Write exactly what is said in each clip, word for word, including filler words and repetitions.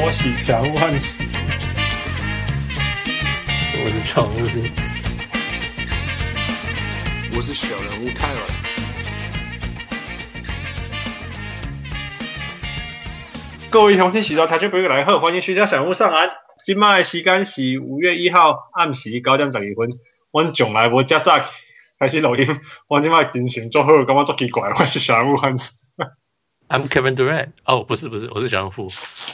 波喜祥萬喜。 我是常務， 我是小人物泰文。 各位鄉親時代聽眾朋友來好，歡迎收聽小人物上岸。今麥的時間是五月一號暗時九點十二分。阮從來無遮早開始錄音，我今麥精神做好，感覺做奇怪。我是小人物漢斯。 I'm Kevin Durant。哦，不是不是，我是小人物。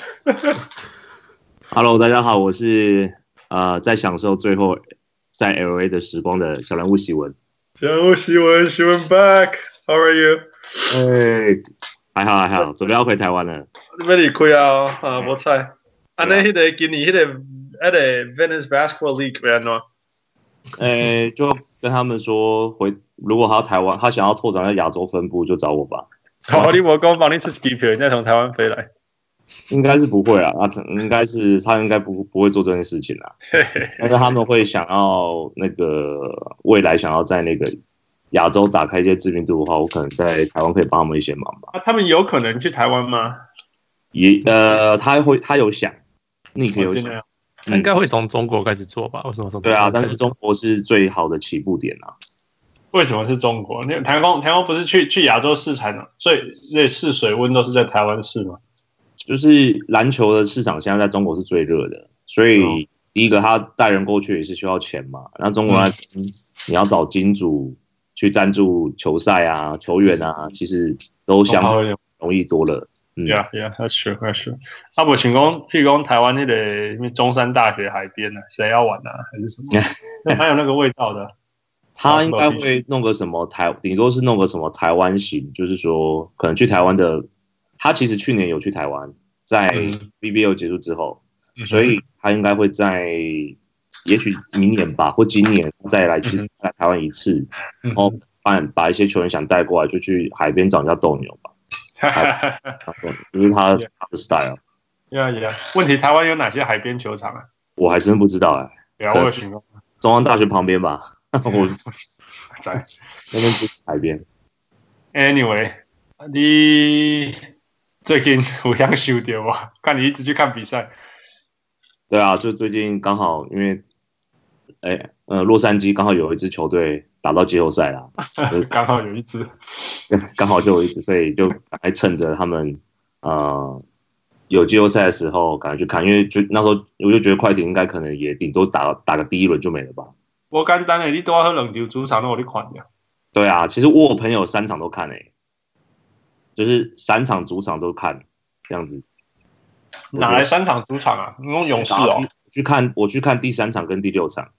Hello， 大家好，我是呃在享受最後在 L A 的時光的小人物喜文。 小人物喜文，喜文 back。How are you？ 哎，還好還好，準備要回台灣了。 你要離開啊？啊，無彩。安尼，迄個今年迄個迄個 Venice Basketball League 要安怎？ 誒，就跟他們說回，如果他台灣，他想要拓展在亞洲分部，就找我吧。 好，你我講幫你出機票，人家從台灣飛來。 應該是不會啊，啊，應該是他應該不不會做這件事情啦。但是他們會想要那個未來想要在那個亞洲打開一些知名度的話，我可能在台灣可以幫他們一些忙吧。 啊，他們有可能去台灣嗎？ 也呃，他會他有想，你可以有想。 他應該會從中國開始做吧？為什麼從？ 對啊，但是中國是最好的起步點啊。 為什麼是中國？那台灣台灣不是去去亞洲市場的，所以所以試水溫都是在台灣市嗎？ 就是籃球的市場現在在中國是最熱的，所以第一個他帶人過去也是需要錢嘛。那中國那邊你要找金主去贊助球賽啊、球員啊，其實都相對容易多了。 Yeah, yeah, that's true, that's true. 啊，不，請講，譬如講台灣那個中山大學海邊啊，誰要玩啊，還是什麼？還有那個味道的。 他應該會弄個什麼台，頂多是弄個什麼台灣型，就是說可能去台灣的。他其實去年有去台灣，在 B B L 結束之後，嗯、所以他應該會在，也許明年吧，或今年再來去來台灣一次，嗯、然後把把一些球員想帶過來，就去海邊找人家鬥牛吧。就是他他的 style。 Yeah, yeah. 問題台灣有哪些海邊球場啊？ 我還真不知道哎、欸。 對啊，我有詢問。 中央大學旁邊吧。我在那邊就是海邊。 Anyway， 你最近有想收到嗎？看你一直去看比賽。 對啊，就最近剛好因為，哎呃，洛杉磯剛好有一支球隊打到季後賽啦， 剛好有一支， 剛好就有一支，所以就還趁着他們呃有季後賽的時候趕快去看，因為就那時候我就覺得快艇應該可能也頂多打打個第一輪就沒了吧。 我簡單的，你多喝兩場主場都有你看的。對啊，其實我有朋友三場都看誒、欸，就是三場主場都看這樣子。 哪來三場主場啊？你用勇士哦。 我去看，我去看第三場跟第六場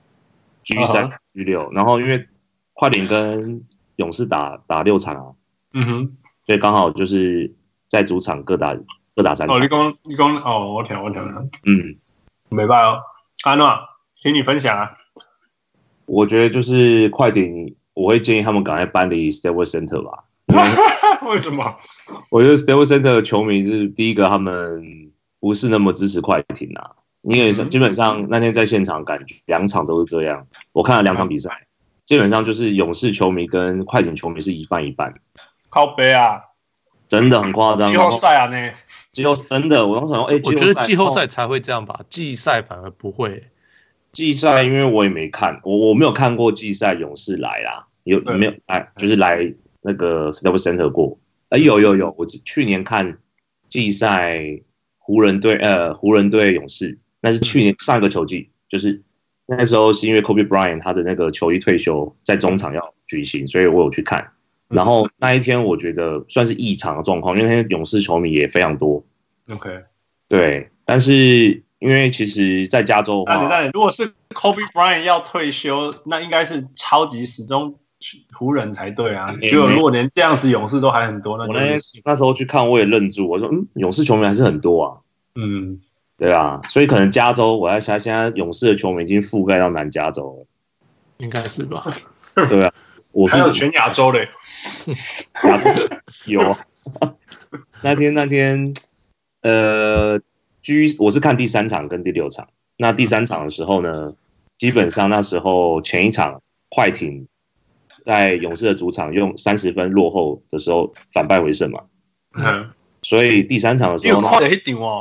，G 三、G 六，然後因為快艇跟勇士打打六場啊， 嗯哼， 所以剛好就是在主場各打各打三場。 哦，你講你講哦，我聽我聽。 嗯， 沒辦法哦，安諾，請你分享啊。 我覺得就是快艇，我會建議他們趕快搬離 Staples Center 吧。 為什麼？ 我覺得 Staples Center 的球迷是第一個，他們不是那麼支持快艇啊。因為基本上那天在現場，感覺兩場都是這樣。我看了兩場比賽，基本上就是勇士球迷跟快艇球迷是一半一半。 靠北啊！ 真的很誇張。 季後賽啊，那季後真的，我當時想說，哎、欸， 我覺得季後賽才會這樣吧，季賽反而不會。 季賽因為我也沒看，我我沒有看過季賽勇士來啦，有沒有來就是來那個 Staples Center 過？哎、欸，有有有，我去年看季賽湖人隊呃湖人隊勇士，那是去年上一個球季，就是那時候是因為 Kobe Bryant 他的那個球衣退休在中場要舉行，所以我有去看。然後那一天我覺得算是異常的狀況，因為那天勇士球迷也非常多。 OK， 對，但是。因為其實，在加州的話， 那你那你如果是 Kobe Bryant 要退休，那應該是超級始終湖人才對啊。結果如果連這樣子勇士都還很多，那我那那時候去看，我也愣住，我說，嗯，勇士球迷還是很多啊。 嗯， 對啊，所以可能加州，我在想，現在勇士的球迷已經覆蓋到南加州了， 應該是吧？ 對啊，我是還有全亞洲嘞， 亞洲有啊。那天那天，呃。G 我是看第三場跟第六場，那第三場的時候呢，基本上那時候前一場快艇在勇士的主場用三十分落後的時候反敗為勝嘛，嗯，所以第三場的時候， 快點一點哦，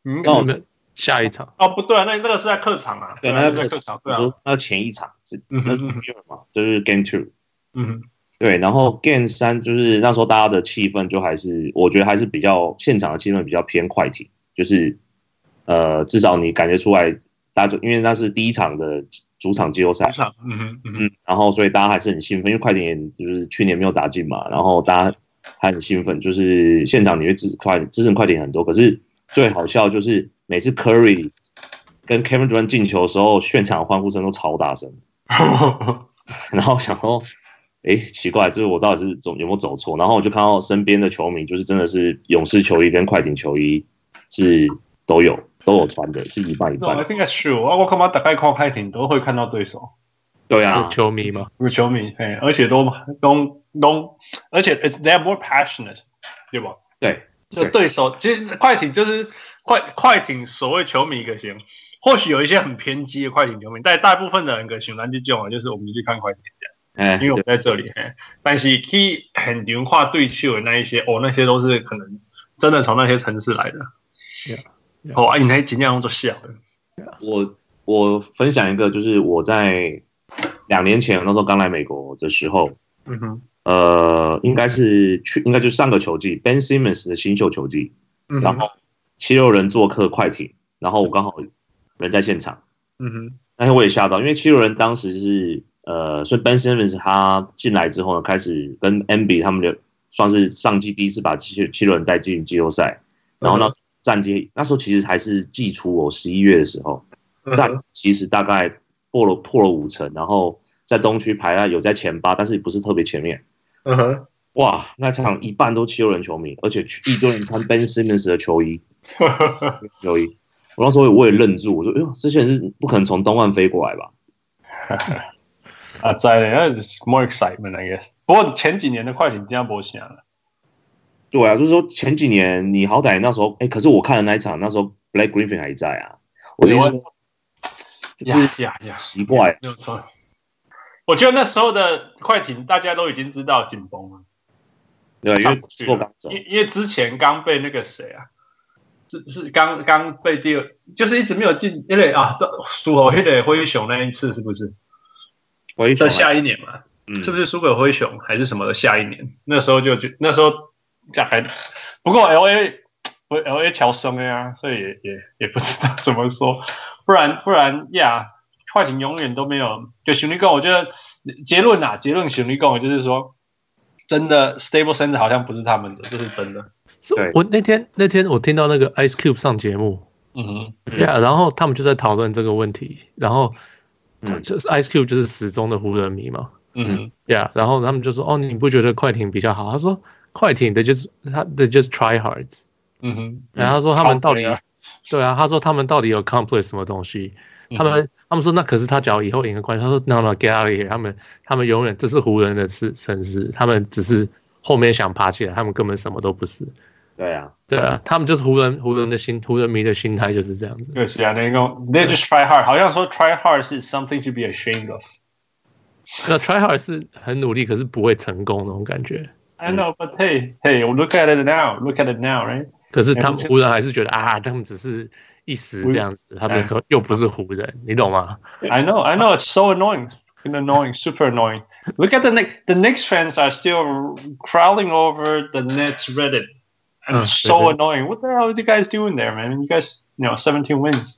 嗯， 那我們下一場哦，不對啊，那那個是在客場啊， 對， 那個在客場，對啊， 那前一場是嗯那是 Game 嘛，就是 Game Two， 嗯， 對，然後 Game 三就是那時候大家的氣氛就還是，我覺得還是比較現場的氣氛比較偏快艇，就是呃，至少你感覺出來，大家就因為那是第一場的主場季後賽， 嗯哼，嗯嗯，然後所以大家還是很興奮，因為快艇就是去年沒有打進嘛，然後大家還很興奮，就是現場你會支持快支持快艇很多，可是最好笑就是每次 Curry 跟 Kevin Durant 進球的時候，現場歡呼聲都超大聲，然後想說，哎，奇怪，就是我到底是走有沒有走錯？然後我就看到身邊的球迷，就是真的是勇士球衣跟快艇球衣是都有都有穿的，是一半一半。 No, I think that's true. 我看到大概看快艇都會看到對手。 對啊， 球迷嘛， 有球迷，嘿，而且都都都，而且 they are more passionate， 對吧？ 對， 就對手，其實快艇就是快快艇所謂球迷一個型，或許有一些很偏激的快艇球迷，但大部分的人個型，咱就講就是我們去看快艇這樣，因為我們在這裡，嘿，但是去很強化對手的那一些，哦，那些都是可能真的從那些城市來的。 Yeah, yeah. 哦，啊，你還盡量做小的。 我我分享一個，就是我在兩年前那時候剛來美國的時候， 嗯哼， 呃，應該是去，應該就是上個球季 Ben Simmons 的新秀球季， 嗯、 然後七六人做客快艇，然後我剛好人在現場， 嗯哼， 但是我也嚇到，因為七六人當時是呃，所以 Ben Simmons 他進來之後呢，開始跟 M B 他們的算是上季第一次把七七六人帶進季後賽，然後那戰績那時候其實還是季初哦，十一月的時候，戰其實大概破了破了五成，然後在東區排啊有在前八，但是不是特別前面。 嗯哼， 哇，那場一半都七六人球迷，而且一堆人穿 Ben Simmons 的球衣，球衣。我那時候我也愣住，我說：“哎呦，這些人是不可能從東岸飛過來吧？” 啊，在的，那是 more excitement I guess。不過前幾年的快艇這樣不行了。 對啊，就是說前幾年你好歹那時候，哎，可是我看的那一場，那時候 Blake Griffin 還在啊。我的意思說，就是呀呀，奇怪， 沒有錯。我覺得那時候的快艇大家都已經知道緊繃了。 對，因為做剛走， 因因為之前剛被那個誰啊，是是剛剛被第二，就是一直沒有進，因為啊，輸給那個灰熊那一次是不是？ 灰熊在下一年嘛，嗯、是不是輸給灰熊還是什麼的？下一年那時候就就那時候。還不過 L A 不 L A 喬生呀，所以也也也不知道怎麼說，不然不然呀，快艇永遠都沒有。就兄弟講，我覺得結論啊，結論兄弟講就是說，真的 Stable Center 好像不是他們的，這是真的。 對，我那天那天我聽到那個 Ice Cube 上節目，嗯哼，對啊，然後他們就在討論這個問題，然後就是 Ice Cube 就是死忠的湖人迷嘛，嗯哼，對啊，然後他們就說，哦，你不覺得快艇比較好？他說。快艇的就是他的就是 try hard， 嗯哼，然後他說他們到底，啊對啊，他說他們到底有 accomplish 什麼東西？嗯、他們他們說那可是他只要以後贏個冠軍，他說 no no get out of here， 他們他們永遠這是湖人的城市，他們只是後面想爬起來，他們根本什麼都不是。對啊，對啊，他們就是湖人湖人的心湖人迷的心態就是這樣子。 對，是啊，那個 they just try hard， 好像說 try hard 是 something to be ashamed of。 那 try hard 是很努力，可是不會成功那種感覺。 I know, but hey, hey, look at it now. Look at it now, right? 可是他們湖人還是覺得啊，他們只是一時這樣子，他們說又不是湖人，你懂嗎 ？I know, I know. It's so annoying, annoying, super annoying. Look at the Knicks. The Knicks fans are still crawling over the Nets Reddit, and it's so annoying. What the hell are you guys doing there, man? You guys, you know, seventeen wins.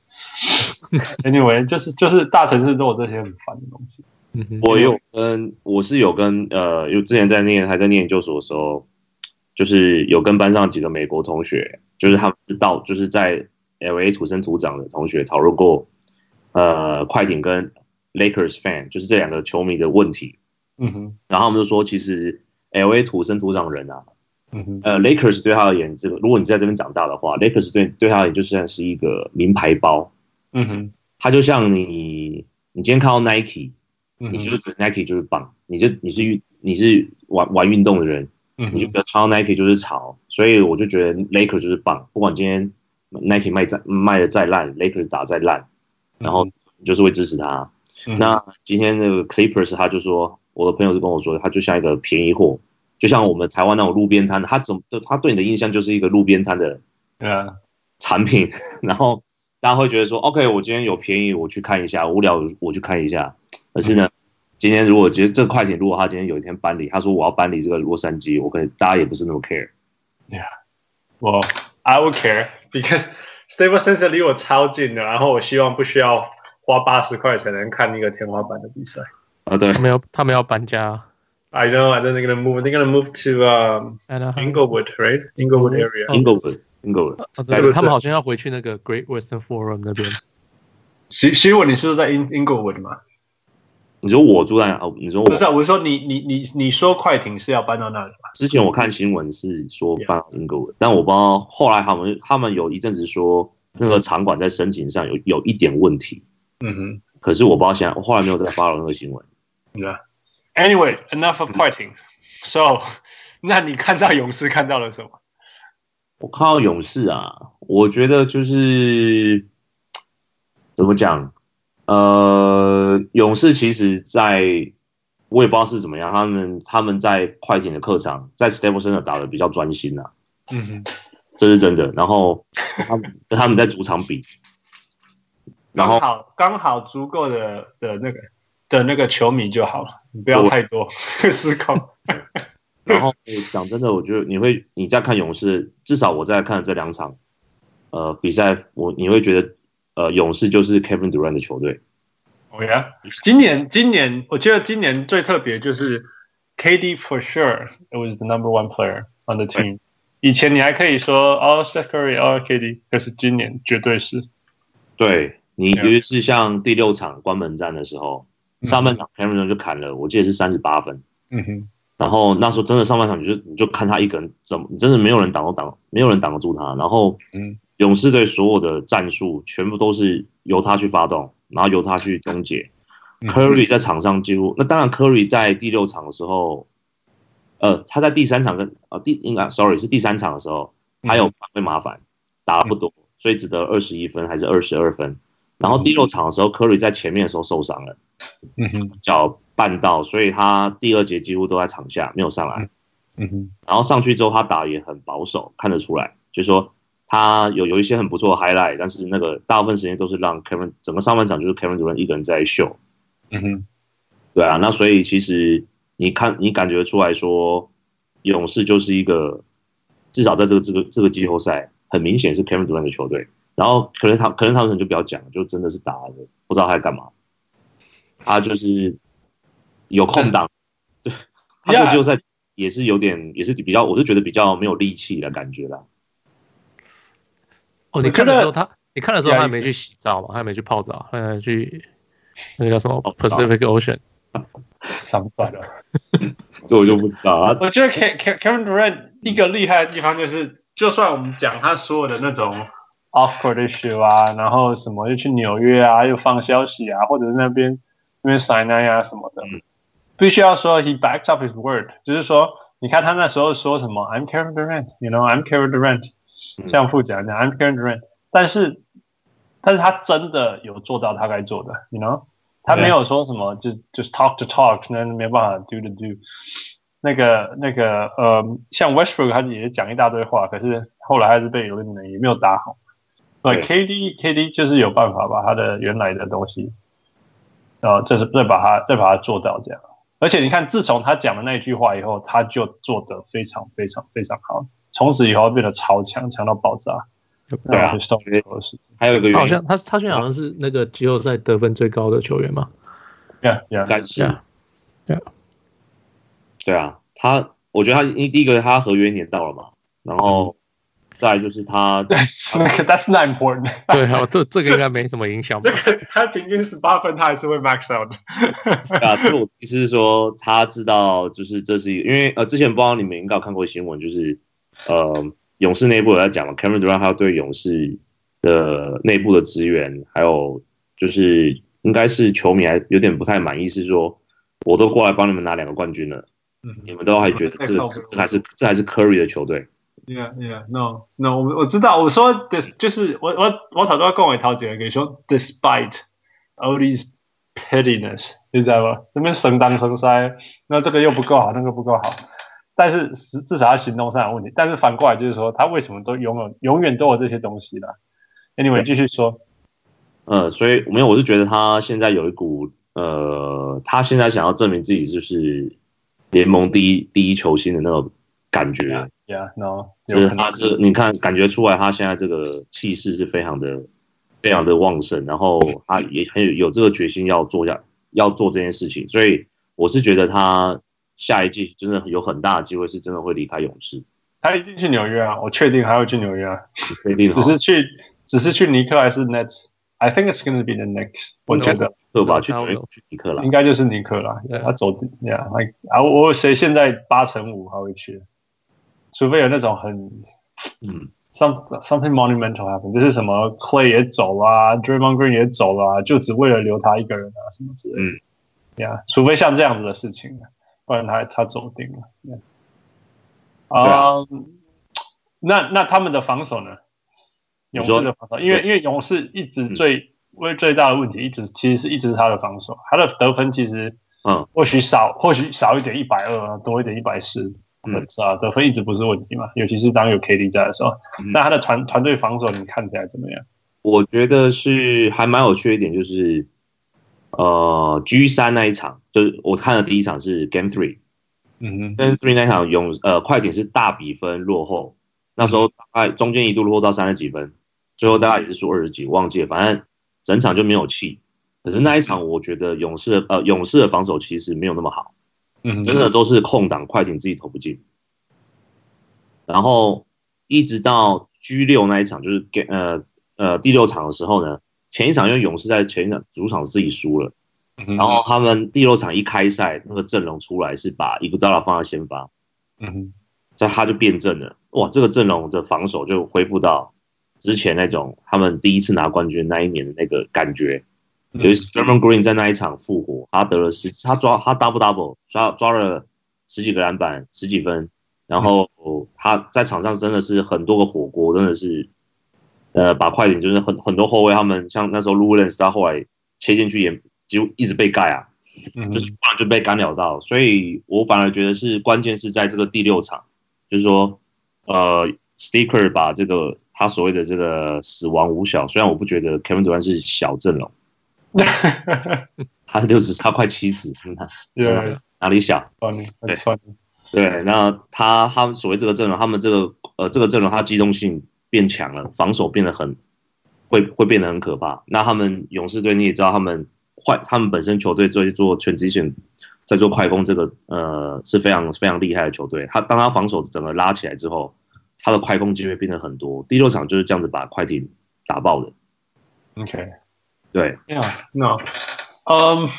Anyway, 就是就是大城市都有這些很煩的東西。 我有跟我是有跟呃，有之前在念還在念研究所的時候，就是有跟班上幾個美國同學，就是他們知道就是在 L A 土生土長的同學討論過，呃，快艇跟 Lakers fan 就是這兩個球迷的問題。嗯哼，然後他們就說，其實 L A 土生土長人啊，嗯哼，呃 ，Lakers 對他而言，這個如果你在這邊長大的話 ，Lakers 對對他而言就算是一個名牌包。嗯哼，他就像你，你今天看到 Nike。你就是覺得 Nike 就是棒，你就你是你是玩玩運動的人，你就覺得穿 Nike 就是潮，所以我就覺得 Lakers 就是棒，不管今天 Nike 賣再賣的再爛 ，Lakers 打再爛，然後你就是會支持他。嗯、那今天那個 Clippers 他就說，我的朋友是跟我說，他就像一個便宜貨，就像我們台灣那種路邊攤，他怎麼他對你的印象就是一個路邊攤的，對啊， 產品，然後大家會覺得說 ，OK， 我今天有便宜，我去看一下；無聊，我去看一下。可是呢，嗯、今天如果覺得這個快艇，如果他今天有一天搬離，他說我要搬離這個洛杉磯，我可能大家也不是那麼 care。 Yeah，well, I would care because Staples Center 離我超近的，然後我希望不需要花八十塊才能看一個天花板的比賽。 啊，對， 他們要他們要搬家。 I know, I know they're gonna move. They're gonna move to um, Inglewood, right? Inglewood area. Inglewood, Inglewood. 對，對他們好像要回去那個 Great Western Forum 那邊。 希希文，你是不是在 Inglewood 嗎？ 你說我住在哪？你說我不是啊，我說你你你你說快艇是要搬到那裡嗎？ 之前我看新聞是說搬到 Inglewood， 但我不知道後來他們他們有一陣子說那個場館在申請上有有一點問題。嗯哼。可是我不知道現在，我後來沒有再 follow 那個新聞。 Yeah.Anyway, enough of 快艇。So， 那你看到勇士看到了什麼？ 我看到勇士啊，我覺得就是怎麼講？呃，勇士其實在，我也不知道是怎麼樣，他們他們在快艇的客場，在 Staples Center 打得比較專心啊。嗯哼，這是真的。然後他們他們在主場比，然後剛好剛好足夠的的那個。的那個球迷就好了，你不要太多失控。 然後講真的，我覺得你會你在看勇士，至少我在看這兩場呃比賽，我你會覺得呃勇士就是 Kevin Durant 的球隊。 哦呀，今年今年我覺得今年最特別就是 K D for sure it was the number one player on the team。以前你還可以說哦 Steph Curry 哦 K D， 可是今年絕對是。 對，你尤其是像第六場關門戰的時候。上半場 Cameron 就砍了，我記得是三十八分。嗯哼，然後那時候真的上半場你就你就看他一個人怎麼，真的沒有人擋都擋，沒有人擋得住他。然後，嗯，勇士隊所有的戰術全部都是由他去發動，然後由他去終結。嗯、Curry 在場上幾乎，那當然 Curry 在第六場的時候，呃，他在第三場跟呃第應該 sorry 是第三場的時候，他有被麻煩，打得不多，所以只得二十一分還是二十二分。然後第六場的時候 ，Curry 在前面的時候受傷了，嗯哼，腳絆到，所以他第二節幾乎都在場下，沒有上來，嗯哼。然後上去之後，他打也很保守，看得出來，就是說他有有一些很不錯的 highlight， 但是那個大部分時間都是讓 Kevin 整個上半場就是 Kevin Durant 一個人在秀，嗯哼，對啊，那所以其實你看你感覺出來說，勇士就是一個至少在這個這個這個季後賽，很明顯是 Kevin Durant 的球隊。然後可能他可能他們就不要講，就真的是打的不知道他在幹嘛。他就是有空檔，對，他這個季後賽也是有點，也是比較，我是覺得比較沒有力氣的感覺啦。 哦，你看的時候他，你看的時候他還沒去洗澡嘛，他還沒去泡澡，他還去那個叫什麼 Pacific Ocean 上班了。 這我就不知道啊。 我覺得 Kevin Durant 一個厲害的地方就是，就算我們講他所有的那種。Off-court issue 啊，然後什麼又去紐約啊，又放消息啊，或者是那邊那邊 sign 啊什麼的，嗯、必須要說 he backed up his word， 就是說，你看他那時候說什麼 I'm Kevin Durant，you know I'm Kevin Durant，、嗯、像副講講 I'm Kevin Durant， 但是但是他真的有做到他該做的 ，you know， 他沒有說什麼就就 talk to talk， 那沒辦法 do to do， 那個那個呃，像 Westbrook 他也講一大堆話，可是後來還是被 eliminate， 也沒有打好。對 ，K D K D 就是有辦法把他的原來的東西，呃，就是再把它再把它做到這樣。而且你看，自從他講了那一句話以後，他就做得非常非常非常好，從此以後變得超強，強到爆炸。 對啊，還有一個原因， 好像他他現在好像是那個季後賽得分最高的球員嘛。 Yeah, yeah, 應該是。 Yeah, yeah. 對啊，他我覺得他第一個他合約年到了嘛，然後。嗯再來就是他， 那個 That's not important。 對啊，這這個應該沒什麼影響吧？ 這個他平均十八分，他還是會 max out 的。 啊，這我意思是說，他知道就是這是一個，因為呃，之前不知道你們應該有看過新聞，就是呃，勇士內部有在講嘛 ，Kevin Durant 還有對勇士的內部的資源，還有就是應該是球迷還有點不太滿意，是說我都過來幫你們拿兩個冠軍了，嗯、你們都還覺得這個這還是這還是 Curry 的球隊。 Yeah, yeah, no, no. 我我知道，我說的就是我我我頭都要跟我頭前給說 ，despite all these pettiness，你知道吧？這邊神當神塞，那這個又不夠好，那個不夠好。 但是至少他行動上有問題。但是反過來就是說，他為什麼都永遠永遠都有這些東西啦 ？Anyway， 繼續說。 呃，所以沒有，我是覺得他現在有一股呃，他現在想要證明自己就是聯盟第一第一球星的那種感覺。 Yeah, yeah, no， 就是他這你看感覺出來，他現在這個氣勢是非常的非常的旺盛，然後他也很有有這個決心要做下要做這件事情，所以我是覺得他下一季真的有很大的機會是真的會離開勇士。 他一定去紐約啊，我確定他會去紐約啊， 確定只是去只是去尼克還是 Nets。I think it's going to be the Knicks。我覺得對吧？去去尼克啦， 應該就是尼克啦。Yeah. 他走，Yeah， 啊，我誰現在八成五他會去，除非有那種很，嗯 ，some something monumental happen， 就是什麼 Clay 也走啦 ，Draymond Green 也走啦，就只為了留他一個人啊，什麼之類的。嗯，Yeah， 除非像這樣子的事情，不然他他走定了。Yeah. 啊、um, 那那他們的防守呢？勇士的防守，因為因為勇士一直最為、嗯、最大的問題，一直其實是一直是他的防守，他的得分其實嗯或許少、嗯、或許少一點一百二，多一點一百四，嗯啊得分一直不是問題嘛，尤其是當有 K D 在的時候，嗯、那他的團團隊防守你看起來怎麼樣？ 我覺得是還蠻有趣的一點，就是呃 G 三那一場，就是我看的第一場是 Game Three， 嗯 Game Three 那一場勇呃快艇是大比分落後。那時候大概中間一度落後到三十幾分，最後大概也是輸二十幾，忘記了，反正整場就沒有氣。可是那一場，我覺得勇士的呃勇士的防守其實沒有那麼好，嗯，真的都是空檔，快艇自己投不進。然後一直到 G 六那一場，就是呃呃第六場的時候呢，前一場因為勇士在前一場主場自己輸了，然後他們第六場一開賽那個陣容出來是把伊古達拉放在先發，嗯哼。所以他就變陣了，哇！這個陣容的防守就恢復到之前那種他們第一次拿冠軍那一年的那個感覺。嗯、尤其是 Draymond Green 在那一場復活，他得了十，他抓他 double double 抓抓了十幾個籃板，十幾分，然後他在場上真的是很多個火鍋，真的是呃把快艇就是很很多後衛他們像那時候 Lou Williams 他後來切進去也幾乎一直被蓋啊，嗯、就是突然就被干擾到，所以我反而覺得是關鍵是在這個第六場。就是說，呃 ，Sticker 把這個他所謂的這個死亡五小，雖然我不覺得 Kevin Durant 是小陣容，他是六十，他快七十， 對， 哪裡小？ 對， 對，那他他們所謂這個陣容，他們這個呃這個陣容，他機動性變強了，防守變得很會會變得很可怕。那他們勇士隊你也知道，他們壞，他們本身球隊在做 transition。在做快攻這個呃是非常非常厲害的球隊，他當他防守整個拉起來之後，他的快攻機會變得很多。第六場就是這樣子把快艇打爆的。 OK， 對 ，Yeah，No， 嗯、um, ，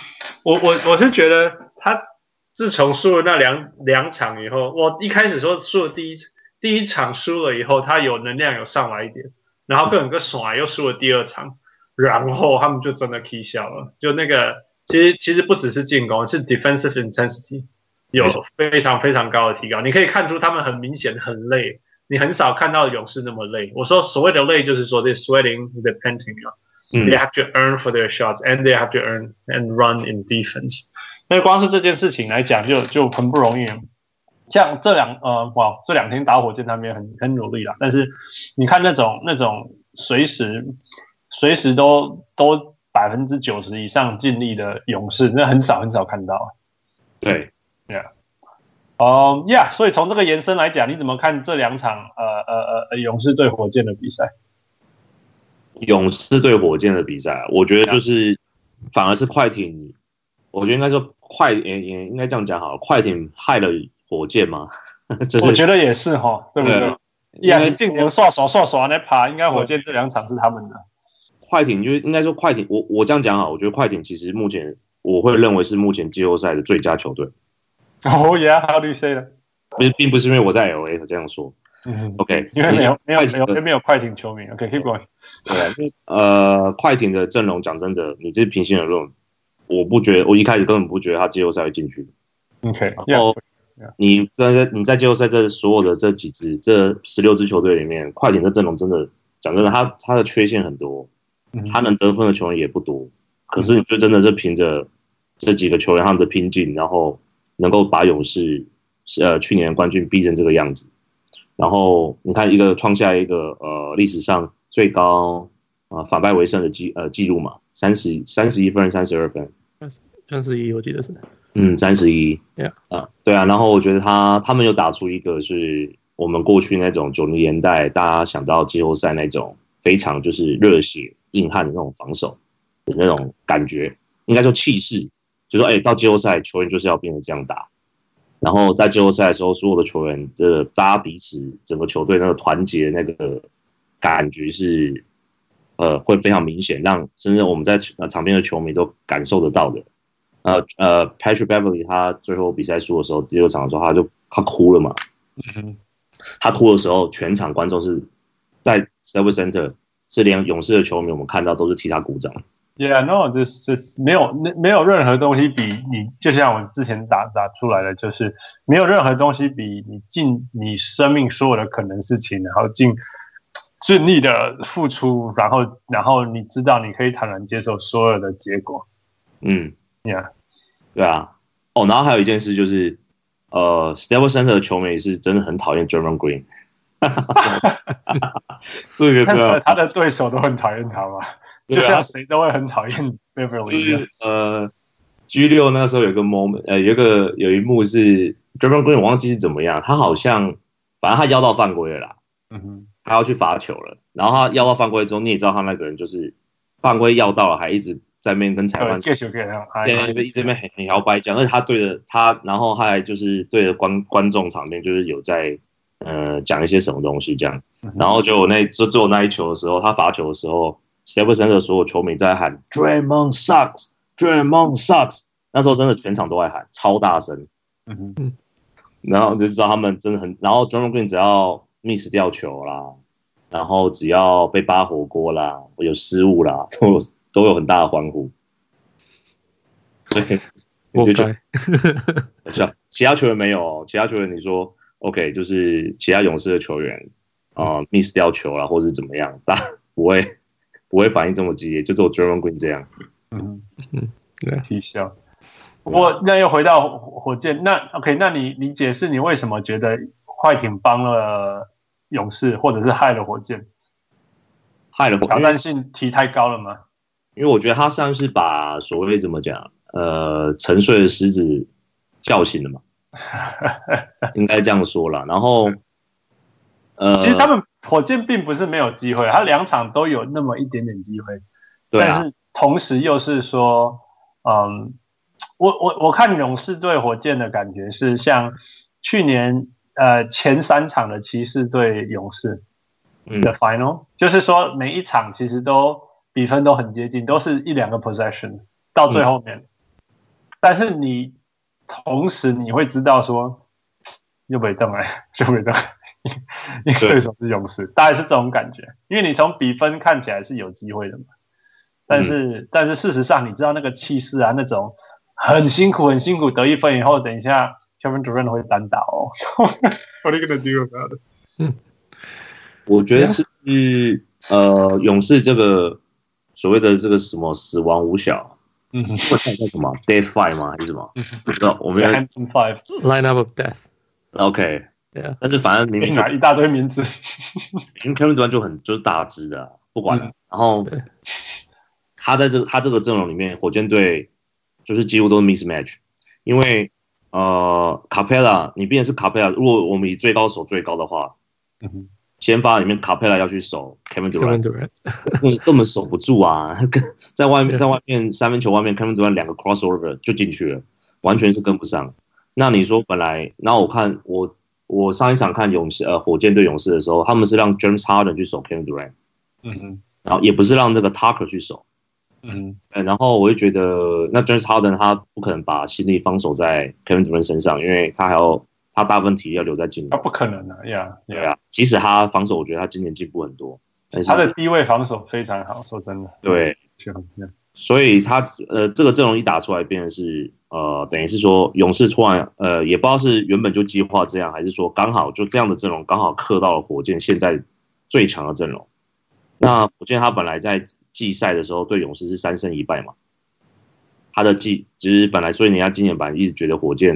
我我我是覺得他自從輸了那兩兩場以後，我一開始說輸了第一第一場輸了以後，他有能量有上來一點，然後個人個爽又輸了第二場，然後他們就真的 K 笑了，就那個。其實其實不只是進攻，是 defensive intensity 有非常非常高的提高。你可以看出他們很明顯很累，你很少看到勇士那麼累。我說所謂的累，就是說 they're sweating, they're panting, they have to earn for their shots, and they have to earn and run in defense。那光是這件事情來講，就就很不容易。像這兩呃哇，這兩天打火箭他們也很很努力啦，但是你看那種那種隨時隨時都都。百分之九十以上盡力的勇士，那很少很少看到。 對 ，Yeah， 哦、um, ，Yeah， 所以從這個延伸來講，你怎麼看這兩場呃呃呃勇士對火箭的比賽？ 勇士對火箭的比賽，我覺得就是反而是快艇，我覺得應該說快也也應該這樣講好了，快艇害了火箭嗎？ 我覺得也是哈，對不對？呀，你進前刷刷刷刷那爬，應該火箭這兩場是他們的。 快艇就是應該說快艇，我我這樣講好，我覺得快艇其實目前我會認為是目前季後賽的最佳球隊。 哦耶，還有綠 C 的， 並並不是因為我在 L A 這樣說。嗯 ，OK， 因為沒有沒有沒有沒有快艇球迷。OK，keep going。 對，呃，快艇的陣容講真的，你這平心而論，我不覺得，我一開始根本不覺得他季後賽會進去。 OK， 然後你在你在季後賽這所有的這幾支這十六支球隊裡面，快艇的陣容真的講真的，他他的缺陷很多。他能得分的球員也不多，可是你就真的是憑着這幾個球員他們的拼勁，然後能夠把勇士呃去年的冠軍逼成這個樣子。然後你看，一個創下一個呃歷史上最高啊、呃、反敗為勝的記呃記錄嘛，三十三十一分，三十二分， 三十一我記得是， 嗯，三十一， 對啊， 啊，對啊。然後我覺得他他們又打出一個是我們過去那種九零年代大家想到季後賽那種非常就是熱血硬漢的那種防守的那種感覺，應該說氣勢，就說哎，到季後賽球員就是要變成這樣打。然後在季後賽的時候，所有的球員，這大家彼此整個球隊那個團結那個感覺是，呃，會非常明顯，讓甚至我們在場邊的球迷都感受得到的。呃呃 ，Patrick Beverley 他最後比賽輸的時候，第六場的時候他就他哭了嘛。嗯、他哭的時候，全場觀眾是在 Staples Center 是連勇士的球迷我們看到都是替他鼓掌。 Yeah, no, 就是沒有沒有任何東西比你，就像我之前打打出來的，就是沒有任何東西比你盡你生命所有的可能事情，然後盡盡力的付出，然後然後你知道你可以坦然接受所有的結果。嗯 ，Yeah， 對啊。哦，然後還有一件事就是，呃 ，Staples Center 的球迷是真的很討厭 Draymond Green。這個他, 他的對手都很討厭他嘛。就像誰都會很討厭 Beverley。 呃 ，G 六那時候有個 moment， 呃，有一個有一幕是 Draymond Green， 我忘記是怎麼樣，他好像反正他邀到犯規了啦，嗯哼，他要去罰球了，然後他邀到犯規之後，你也知道他那個人就是犯規要到了，還一直在那邊跟裁判， 對， 一直在那邊很很搖擺講，而且他對着他，然後他還就是對着觀觀眾場面就是有在呃講一些什麼東西這樣，然後就那就最後那一球的時候，他罰球的時候。Staples Center 的所有球迷在喊 Draymond sucks, Draymond sucks， 那時候真的全場都在喊，超大聲。嗯哼，然後就知道他們真的很，然後 Draymond Green 只要 miss 掉球啦，然後只要被扒火鍋啦，有失誤啦，都有都有很大的歡呼。所以你就覺得笑，其他球員沒有，其他球員你說 OK， 就是其他勇士的球員啊、呃、miss 掉球啦，或是怎麼樣，但不會。不會反應這麼激烈，就只有 Draymond Green 這樣。 嗯嗯，對，踢笑。我那又回到火箭，那 OK， 那你你解釋你為什麼覺得快艇幫了勇士，或者是害了火箭？ 害了火箭， 挑戰性提太高了嗎？ 因為我覺得他像是把所謂怎麼講，呃，沉睡的獅子叫醒了嘛，應該這樣說啦。然後，呃， 其實他們。火箭並不是沒有機會，他兩場都有那麼一點點機會，對啊，但是同時又是說，嗯，我我我看勇士對火箭的感覺是像去年呃前三場的騎士對勇士的 final，、嗯、就是說每一場其實都比分都很接近，都是一兩個 possession 到最後面，嗯、但是你同時你會知道說又沒動哎，又沒動。因為對手是勇士，大概是這種感覺。因為你從比分看起來是有機會的嘛，但是、嗯、但是事實上，你知道那個氣勢啊，那種很辛苦很辛苦得一分以後，等一下 Kevin Durant 會單打哦。What are you gonna do about it？ 嗯，我覺得是、yeah. 呃，勇士這個所謂的這個什麼死亡五小，嗯，叫什麼 Death Five 嗎？還是什麼？不知道，我們要 Hampton Five Lineup of Death。OK。Yeah. 但是反正明明拿一大堆名字， 因為 Kevin Durant 就很就是大只的、啊，不管了、嗯。然後他在這個他這個陣容裡面，火箭隊就是幾乎都是 mismatch， 因為呃 Capela 你畢竟是 Capela， 如果我們以最高守最高的話，嗯哼，先發裡面 Capela 要去守 Kevin Durant， 根根本守不住啊！在外面在外面三分球外面 Kevin Durant 兩個 crossover 就進去了，完全是跟不上。那你說本來，那我看我。我上一場看勇士呃火箭對勇士的時候，他們是讓 James Harden 去守 Kevin Durant， 嗯哼，然後也不是讓這個 Tucker 去守，嗯哼，然後我就覺得那 James Harden 他不可能把心力放守在 Kevin Durant 身上，因為他還要他大部分體力要留在今年， 他不可能的呀， 對啊，即使他防守，我覺得他今年進步很多，但是他的低位防守非常好，說真的， 對，所以他呃這個陣容一打出來，變成是。呃，等於是說，勇士突然呃，也不知道是原本就計劃這樣，還是說剛好就這樣的陣容剛好克到了火箭現在最強的陣容。那火箭他本來在季賽的時候對勇士是三勝一敗嘛，他的季其實本來，所以人家今年本來一直覺得火箭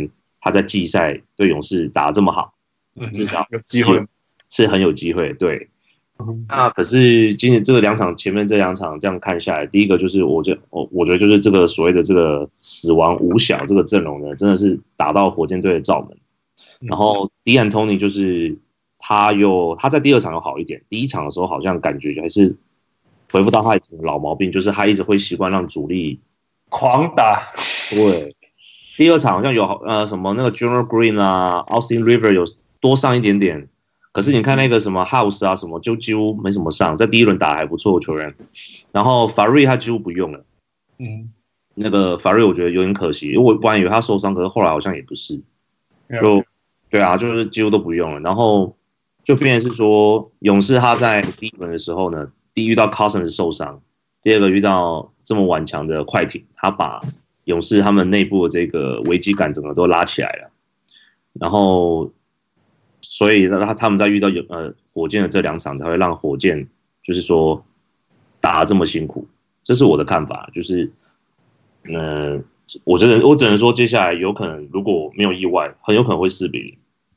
他在季賽對勇士打得這麼好，至少有機會是很有機會。對，嗯、那可是今年這個兩場前面這兩場這樣看下來，第一個就是我覺我我覺得就是這個所謂的這個死亡五小這個陣容呢，真的是打到火箭隊的罩門。然後 D'Antoni 就是他又他在第二場又好一點，第一場的時候好像感覺還是恢復到他以前的老毛病，就是他一直會習慣讓主力狂打。 對，第二場好像有呃什麼那個 Junior Green 啊 ，Austin River 有多上一點點，可是你看那個什麼 House 啊什麼就幾乎沒什麼上，在第一輪打還不錯的球員。然後 Farid 他幾乎不用了，嗯，那個 Farid 我覺得有點可惜，因為我本來以為他受傷，可是後來好像也不是，就。對啊，就是幾乎都不用了，然後就變成是說，勇士他在第一輪的時候呢，第一遇到 Cousins 受傷，第二個遇到這麼頑強的快艇，他把勇士他們內部的這個危機感整個都拉起來了，然後所以他他們在遇到呃火箭的這兩場才會讓火箭就是說打得這麼辛苦，這是我的看法，就是嗯、呃，我只能我只能說接下來有可能如果沒有意外，很有可能會四比零。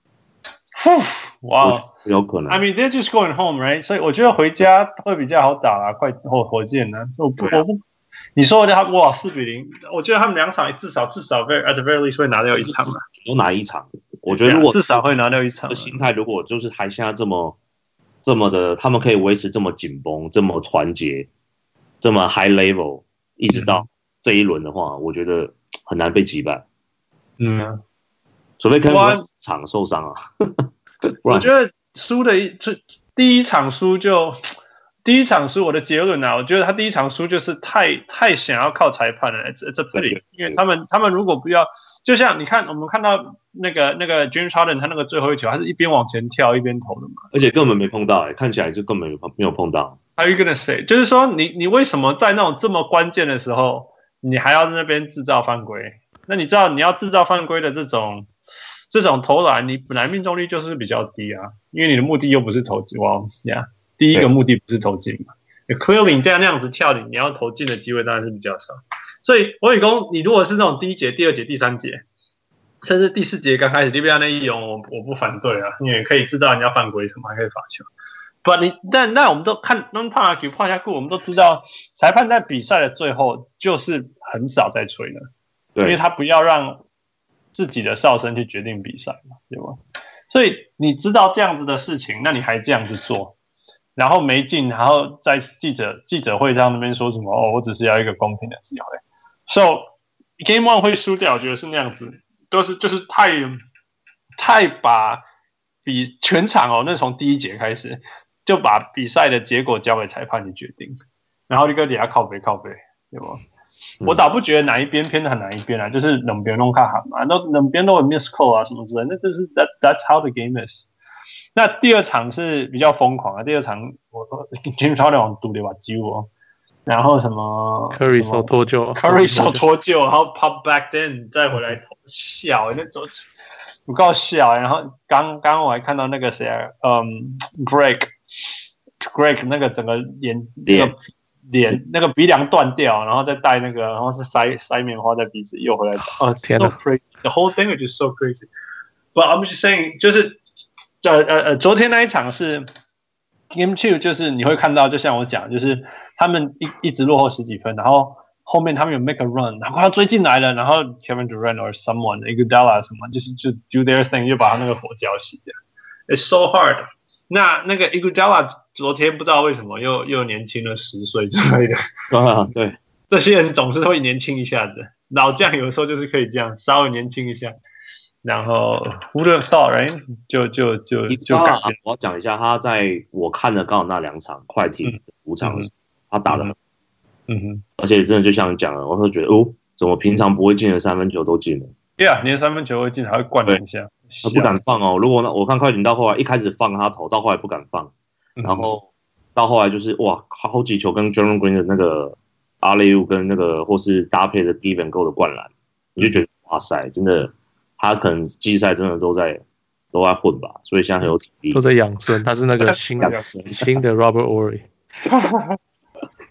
哇， 有可能。 I mean, they're just going home, right? 所以我覺得回家會比較好打啦，快火火箭呢、啊。我不，啊、我不，你說的他哇四比零，我覺得他們兩場至少至少 very at the very least 會拿掉一場嘛。 都拿一場，我覺得如果、 啊、至少會拿掉一場。 心態如果就是還現在這麼這麼的，他們可以維持這麼緊繃、這麼團結、這麼 high level， 一直到這一輪的話，嗯、我覺得很難被擊敗。嗯。除非 Kevin 場受傷啊， 我覺得輸的一就第一場輸就第一場輸，我的結論啊，我覺得他第一場輸就是太太想要靠裁判了，這這不理，因為他們他們如果不要，就像你看我們看到那個那個 James Harden 他那個最後一球，他是一邊往前跳一邊投的嘛， 而且根本沒碰到、欸，看起來就根本沒有碰到。 How you gonna say？ 就是說你你為什麼在那種這麼關鍵的時候，你還要在那邊制造犯規？那你知道你要制造犯規的這種。這種投籃，你本來命中率就是比較低啊，因為你的目的又不是投進，哇呀，第一個目的不是投進嘛。Clearly 你這樣那樣子跳，你你要投進的機會當然是比較少。所以我跟你說，你如果是那種第一節、第二節、第三節，甚至第四節剛開始，利比亞那一勇，我我不反對啊，因為可以知道人家犯規什麼，還可以罰球。不，你但那我們都看 non 判啊、舉判下庫，我們都知道，裁判在比賽的最後就是很少在吹了，因為他不要讓自己的哨聲去決定比賽嘛，對吧？所以你知道這樣子的事情，那你還這樣子做，然後沒進，然後在記者記者會上那邊說什麼？哦，我只是要一個公平的機會。So Game One 會輸掉，我覺得是那樣子，都是就是太太把比全場哦，那從第一節開始就把比賽的結果交給裁判去決定，然後就跟底下靠北靠北，對吧？我倒不覺得哪一邊偏很哪一邊啊，就是兩邊都看好嘛，都兩邊都有 miss call 啊什麼之類的，那就是 that that's how the game is。那第二場是比較瘋狂啊，第二場我說 James Harden 往賭的把揪哦，然後什麼 Curry 手脫臼 ，Curry 手脫臼，然後 pop back then 再回來笑，那種不夠笑。然後剛剛我還看到那個誰啊，嗯 ，Greg Greg 那個整個眼那個。臉那個鼻梁斷掉，然後再戴那個，然後是塞塞棉花在鼻子，又回來。哦、oh, ，so crazy，the whole thing is just so crazy。But I'm just saying，就是呃呃呃，昨天那一場是 Game Two， 就是你會看到，就像我講，就是他們一一直落後十幾分，然後後面他們有 make a run， 然後他追進來了，然後 Kevin Durant or someone，Iguodala 什麼，就是就 do their thing， 就把他那個火澆熄掉。It's so hard。那那個 Iguodala 昨天不知道為什麼又又年輕了十歲之類的， 啊，對， 這些人總是會年輕一下子，老將有時候就是可以這樣稍微年輕一下，然後 Who would have thought, right？ 就就就就改變。 我要講一下，他在我看的剛好那兩場快艇的主場，嗯、他打得很，嗯哼，而且真的就像你講的，我會覺得哦，怎麼平常不會進的三分球都進了。 對啊，連三分球會進，還會灌兩下。 他不敢放哦。如果我看快艇到後來一開始放他投，到後來不敢放，嗯、然後到後來就是哇，好幾球跟 Jalen Green 的那個阿雷烏跟那個或是搭配的 Devin Go 的灌籃，你就覺得哇塞，真的他可能季賽真的都在都在混吧，所以現在很有體力， 都在養生。他是那個新的新的 Robert Ory。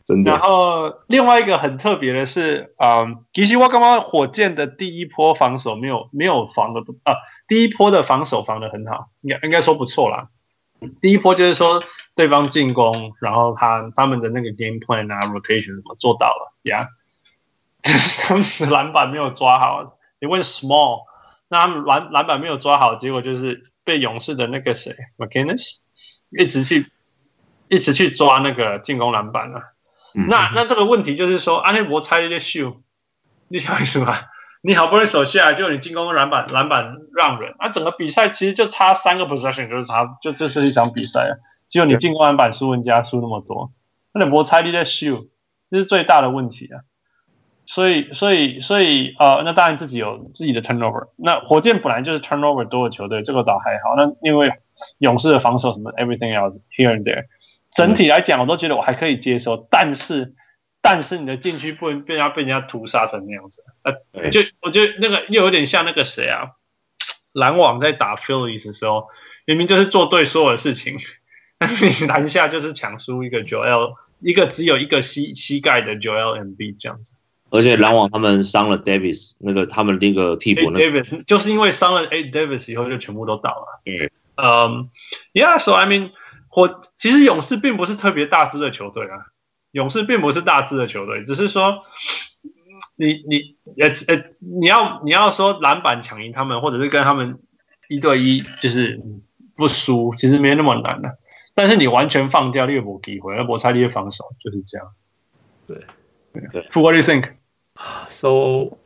真的。 然後另外一個很特別的是，嗯，其實我剛剛火箭的第一波防守沒有沒有防的啊，第一波的防守防得很好，應該應該說不錯啦。第一波就是說對方進攻，然後他他們的那個 game plan 啊 rotation 我做到了呀，就是他們的籃板沒有抓好，因為 small， 那他們籃籃板沒有抓好，結果就是被勇士的那個誰 McInnes 一直去一直去抓那個進攻籃板啊。嗯、那那這個問題就是說，安內博猜一個秀，你曉得意思嗎？你好不容易守下來，就你進攻籃板籃板讓人，啊，整個比賽其實就差三個 possession， 就是差就這是一場比賽啊，結果你進攻籃板輸人家輸那麼多，安內博猜一個秀，這是最大的問題啊。所以所以所以呃，那當然自己有自己的 turnover， 那火箭本來就是 turnover 多的球隊，這個倒還好。那因為勇士的防守什麼 everything else here and there。整體來講，我都覺得我還可以接受，但是，但是你的禁區不能被人家被人家屠殺成那樣子，呃，就我覺得那個又有點像那個誰啊，籃網在打 Phillies 的時候，明明就是做對所有的事情，但是你籃下就是搶輸一個 Joel， 一個只有一個膝膝蓋的 Joel Embiid 這樣子。 而且籃網他們傷了 Davis， 那個他們那個替補、那個、 Davis 就是因為傷了 A Davis 以後就全部都倒了。 嗯， 嗯、um, ，Yeah，so I mean。我其實勇士並不是特別大支的球隊啊，勇士並不是大支的球隊，只是說你你呃呃你要你要說籃板搶贏他們，或者是跟他們一對一就是不輸，其實沒那麼難的、啊。但是你完全放掉列博機會，而博猜利的防守就是這樣。 對對。What do you think? So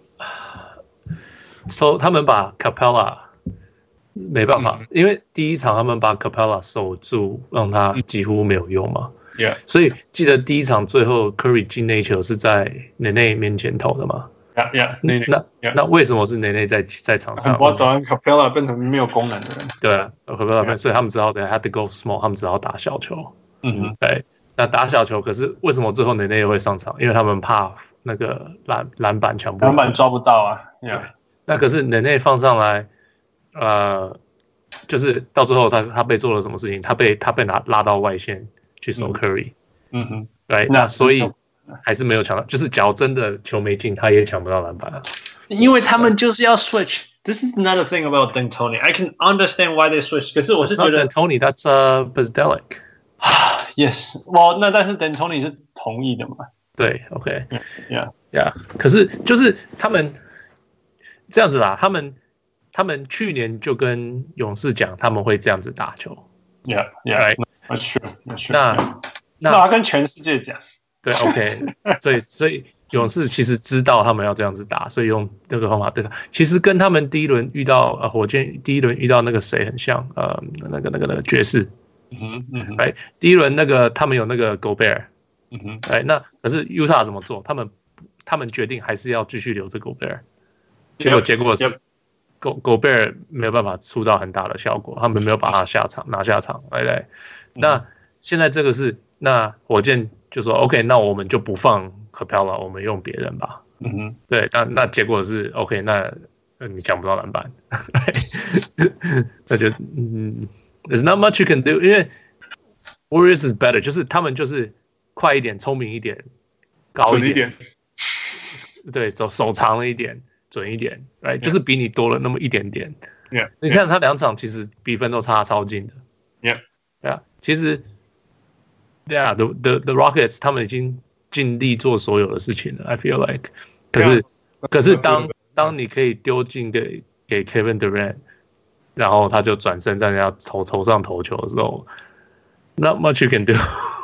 so 他們把 Capella。沒辦法，因為第一場他們把 Capella 守住，讓他幾乎沒有用嘛。 Yeah. 所以記得第一場最後 Curry 進那球是在內內面前投的嘛 ？Yeah, yeah. 內內那 yeah. 那為什麼是內內在在場上？ 我找 Capella 變成沒有功能的人。 對啊 ，Capella 變，所以他們只好得 had to go small， 他們只好打小球。 嗯哼， 對，那打小球，可是為什麼最後內內會上場？因為他們怕那個籃籃板搶不， 籃板抓不到啊。Yeah. 那可是內內放上來。呃，就是到最後他他被做了什麼事情？他被他被拿拉到外線去守 Curry， 嗯哼， 對，那所以還是沒有搶到。就是假如真的球沒進，他也搶不到籃板啊。 因為他們就是要 switch。This is another thing about D'Antoni. I can understand why they switch. 可是我是覺得 D'Antoni that's uh Bzdelik。 Yes， well， 那但是 D'Antoni 是同意的嘛？ 對 ，OK，Yeah，Yeah，、 yeah. 可是就是他們這樣子啦，他們。他們去年就跟勇士講，他們會這樣子打球。 Yeah, yeah, that's true, that's true. 那那那跟全世界講。 對 ，OK， 所以所以勇士其實知道他們要這樣子打，所以用這個方法對他。其實跟他們第一輪遇到呃火箭第一輪遇到那個誰很像，呃，那個那個那個爵士。 嗯哼，嗯哼。 哎，第一輪那個他們有那個 Gobert。 嗯哼。 哎，那可是 Utah 怎麼做？他們他們決定還是要繼續留着 Gobert。結果結果是。Yep. Go Gobert 沒有辦法出到很大的效果，他們沒有把他下場拿下場，對不對？那現在這個是，那火箭就說 OK， 那我們就不放 Capella， 我們用別人吧。 嗯哼， 對，那那結果是 OK， 那你搶不到籃板，那就嗯 ，There's not much you can do， 因為 Warriors is better， 就是他們就是快一點、聰明一點、高一點，對，手手長了一點。準一點 ，right， yeah. 就是比你多了那麼一點點。 Yeah. 你看他兩場其實比分都差超近的。 Yeah. 對啊，其實，對啊 ，the the the Rockets 他們已經盡力做所有的事情了。I feel like， 可是、yeah. 可是當當你可以丟進給給 Kevin Durant， 然後他就轉身在人家頭頭上投球的時候 ，not much you can do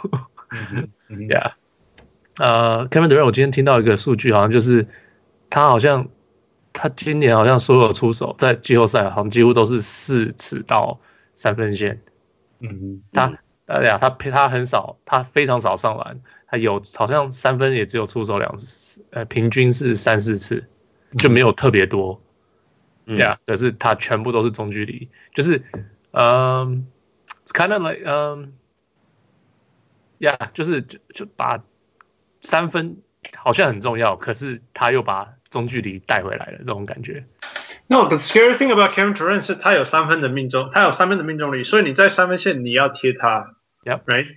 。Yeah， 呃、uh, ，Kevin Durant， 我今天聽到一個數據，好像就是。他好像，他今年好像所有出手在季後賽好像幾乎都是四次到三分線。 嗯， 他，哎呀，他他很少，他非常少上籃，他有好像三分也只有出手兩次，呃，平均是三四次，就沒有特別多。嗯，呀，可是他全部都是中距離，就是，嗯 ，it's kind of like，嗯，呀，就是就就把三分好像很重要，可是他又把中距離帶回來了，這種感覺。 No, the scary thing about Kevin Durant 是他有三分的命中，他有三分的命中率，所以你在三分線你要貼他 ，Yep. right？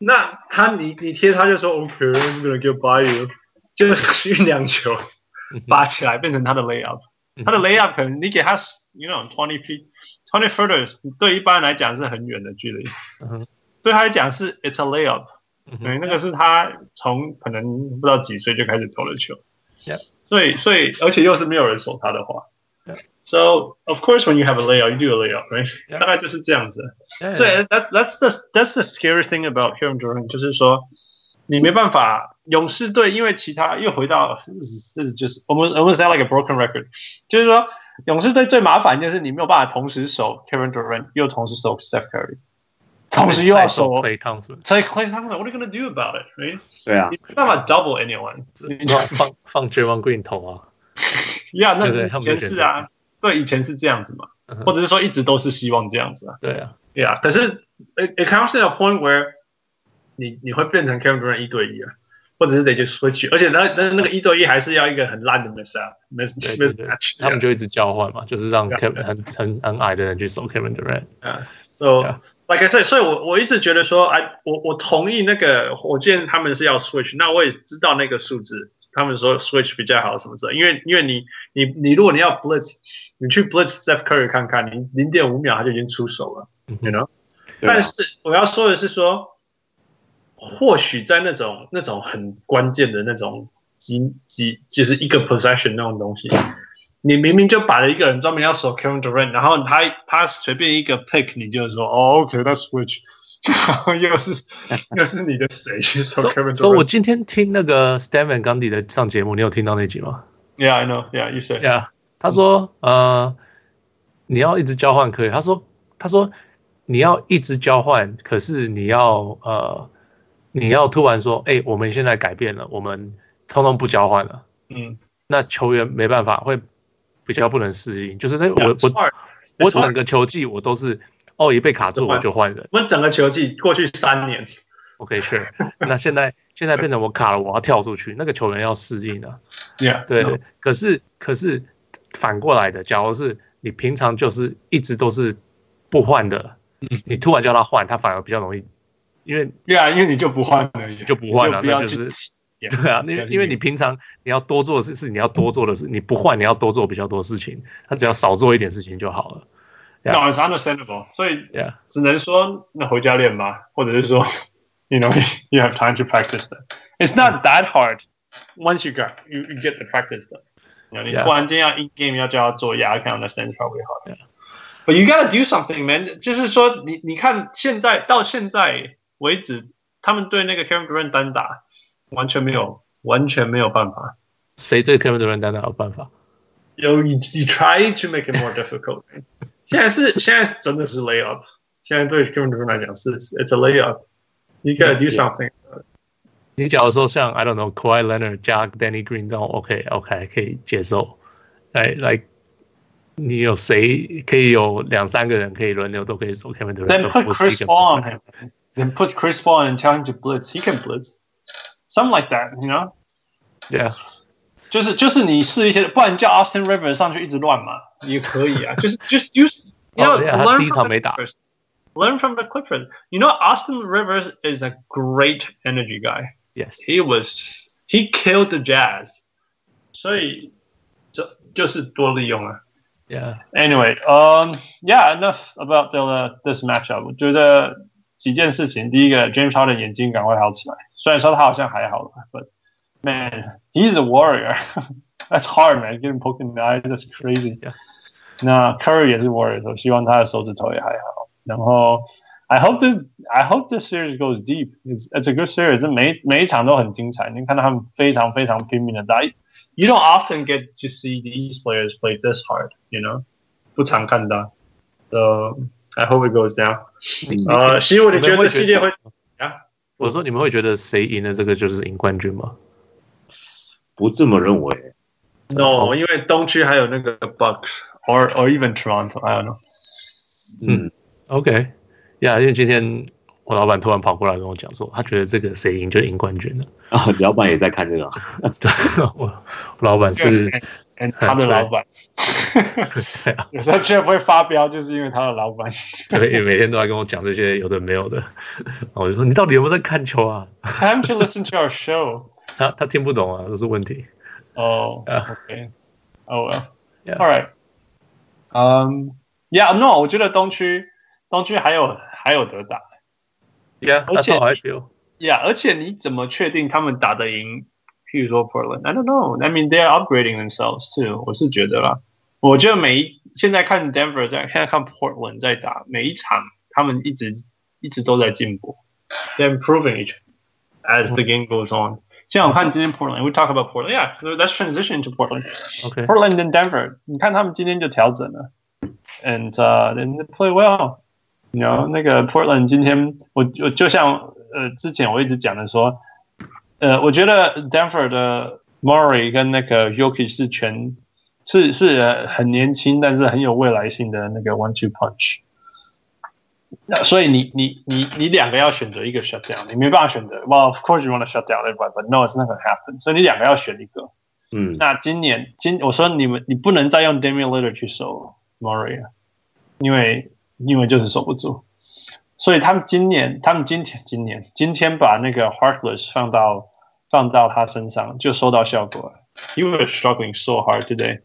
那他你你貼他就說 OK，I'm gonna get by you， 就是運兩球拔起來變成他的 layup， 他的 layup 可能你給他 you know twenty feet twenty footers， 對一般人來講是很遠的距離，對他來講是 it's a layup， 對，那個是他從可能不知道幾歲就開始投的球，所以所以而且又是沒有人守他的話。So of course, when you have a layup, you do a layup, right? 大概就是這樣子。所以 that's that's the that's the scariest thing about Kevin Durant， 就是說你沒辦法，勇士隊因為其他又回到這是就是 almost almost sound like a broken record， 就是說勇士隊最麻煩就是你沒有辦法同時守 Kevin Durant， 又同時守 Steph Curry， 同時又要守 Klay Thompson， 所以 Klay Thompson，what are you gonna do about it, right？ 對啊， 你沒辦法 double anyone， 你放放 Draymond Green 投啊。 呀、yeah, ，那以前是啊，對，以前是這樣子嘛，嗯、或者是說一直都是希望這樣子啊。 對啊， 呀、yeah, 可是 it, it comes to a point where 你你會變成 Kevin Durant 一對一啊，或者是得就 switch， 而且那那那個一對一還是要一個很爛的 mismatch mismatch， 他們就一直交換嘛，就是讓 Kevin 很很很矮的人去守 Kevin Durant。 啊 ，so yeah. like I said， 所以我我一直覺得說，哎，我我同意那個火箭他們是要 switch， 那我也知道那個數字。他們說 switch 比較好什麼之類，因為因為你你你如果你要 blitz， 你去 blitz Steph Curry 看看，你零點五秒他就已經出手了 ，you know？、啊、但是我要說的是說，或許在那種那種很關鍵的那種幾幾就是一個 possession 那種東西，你明明就擺了一個人專門要守 Kevin Durant， 然後他他隨便一個 pick， 你就說哦 OK，that's switch。然後又是又是你的誰去守 Kevin Durant？ 所以我今天聽那個 Stan Van Gundy 的上節目，你有聽到那集嗎 ？Yeah, I know. Yeah, you said. Yeah， 他說呃，你要一直交換可以。他說他說你要一直交換，可是你要呃你要突然說，哎、欸，我們現在改變了，我們通通不交換了。嗯，那球員沒辦法，會比較不能適應。就是那我 yeah, 我我整個球季我都是。哦，一被卡住我就換人。 我們整個球季過去三年 ，OK， sure。那現在現在變成我卡了，我要跳出去，那個球員要適應啊。 Yeah， 對對。可是可是反過來的，假如是你平常就是一直都是不換的，你突然叫他換，他反而比較容易，因為 Yeah， 因為你就不換了， 你就不換了，那就是對啊。因為因為你平常你要多做的事是你要多做的事，你不換你要多做比較多事情，他只要少做一點事情就好了。 Yeah. No, it's understandable. 所以只能說那回家練吧，或者是說 you know, you have time to practice that. It's not that hard once you got you, you get the practice done. You know, 你突然間要 in game 要叫他做 yeah, I can understand it's probably hard. Yeah. But you gotta do something, man. 就是說你你看現在到現在為止，他們對那個 Kevin Durant 單打完全沒有完全沒有辦法。 誰對 Kevin Durant 單打有辦法？ You, you, you try to make it more difficult. 現在是現在是真的是 layup， 現在對 Kevin Durant 來講是 it's a layup， you gotta do something。 你假如說像 I don't know Kawhi Leonard 加 Danny Green 這種 OK OK 可以接受，來來，你有誰可以有兩三個人可以輪流都可以守 Kevin Durant？ Then put Chris Paul on him. Then put Chris Paul and tell him to blitz. He can blitz. Something like that, you know? Yeah. 就是就是你試一些，不然叫 Austin Rivers 上去一直亂嘛，也可以啊。就是就是就是 you know, oh, yeah, learn from the Clippers. Learn from the Clippers. You know, Austin Rivers is a great energy guy. Yes, he was. He killed the Jazz. 所以就就是多利用啊。 Yeah. Anyway, um, yeah, enough about the this matchup. 我覺得幾件事情，第一個 James Harden 眼睛趕快好起來，雖然說他好像還好了 ，but man, he's a warrior. That's hard, man. Getting poked in the eye, that's crazy. Yeah. 那 Curry 也是 warrior， 所以希望他的手指頭也還好。然後 I hope this, I hope this series goes deep. It's, it's a good series. 每每一場都很精彩。你看到他們非常非常拼命的打。You don't often get to see these players play this hard, you know? 不常看到。So I hope it goes down. 呃，希望你覺得系列會啊？ 我說你們會覺得誰贏了這個就是贏冠軍嗎？ 不這麼認為。 No， 因為東區還有那個 Bucks or or even Toronto. I don't know. 嗯 ，OK， 呀、yeah, 因為今天我老闆突然跑過來跟我講說，他覺得這個誰贏就贏冠軍了。 啊，老闆也在看這個。 對，我我老闆是他的老闆。 對啊， 有時候 Jeff 會發飆，就是因為他的老闆， 對，每天都在跟我講這些有的沒有的，我就說你到底有沒有在看球啊 ？Time to listen to our show 他。他他聽不懂啊，這是問題。 哦、oh, ，OK， oh well，all、yeah. right， 嗯、um, ，Yeah，No， 我覺得東區東區還有還有得打。 Yeah， 而且 I feel. Yeah， 而且你怎麼確定他們打得贏？譬如說 Portland，I don't know. I mean, they are upgrading themselves too. 我是覺得啦，我覺得每一現在看 Denver 在，現在看 Portland 在打每一場，他們一直一直都在進步。They're improving each as the game goes on. 像我看今天 Portland，we talk about Portland. Yeah, let's transition to Portland. Okay. Portland and Denver. 你看他們今天就調整了 ，and uh, and they play well. You know, 那個 Portland 今天我我就像呃之前我一直講的說。呃，我覺得 Denver 的 Murray 跟那個 Jokic 是全是是很年輕，但是很有未來性的那個 one two punch。所以你你你你兩個要選擇一個 shut down， 你沒辦法選擇。Well, of course you want to shut down everybody, but no, it's not going to happen。所以你兩個要選一個。嗯。那今年今我說你們你不能再用 Damian Lillard 去守 Murray 了，因為因為就是守不住。所以他們今年他們今天今年今天把那個 Harkless 放到。放到他身上就收到效果了。You were struggling so hard today,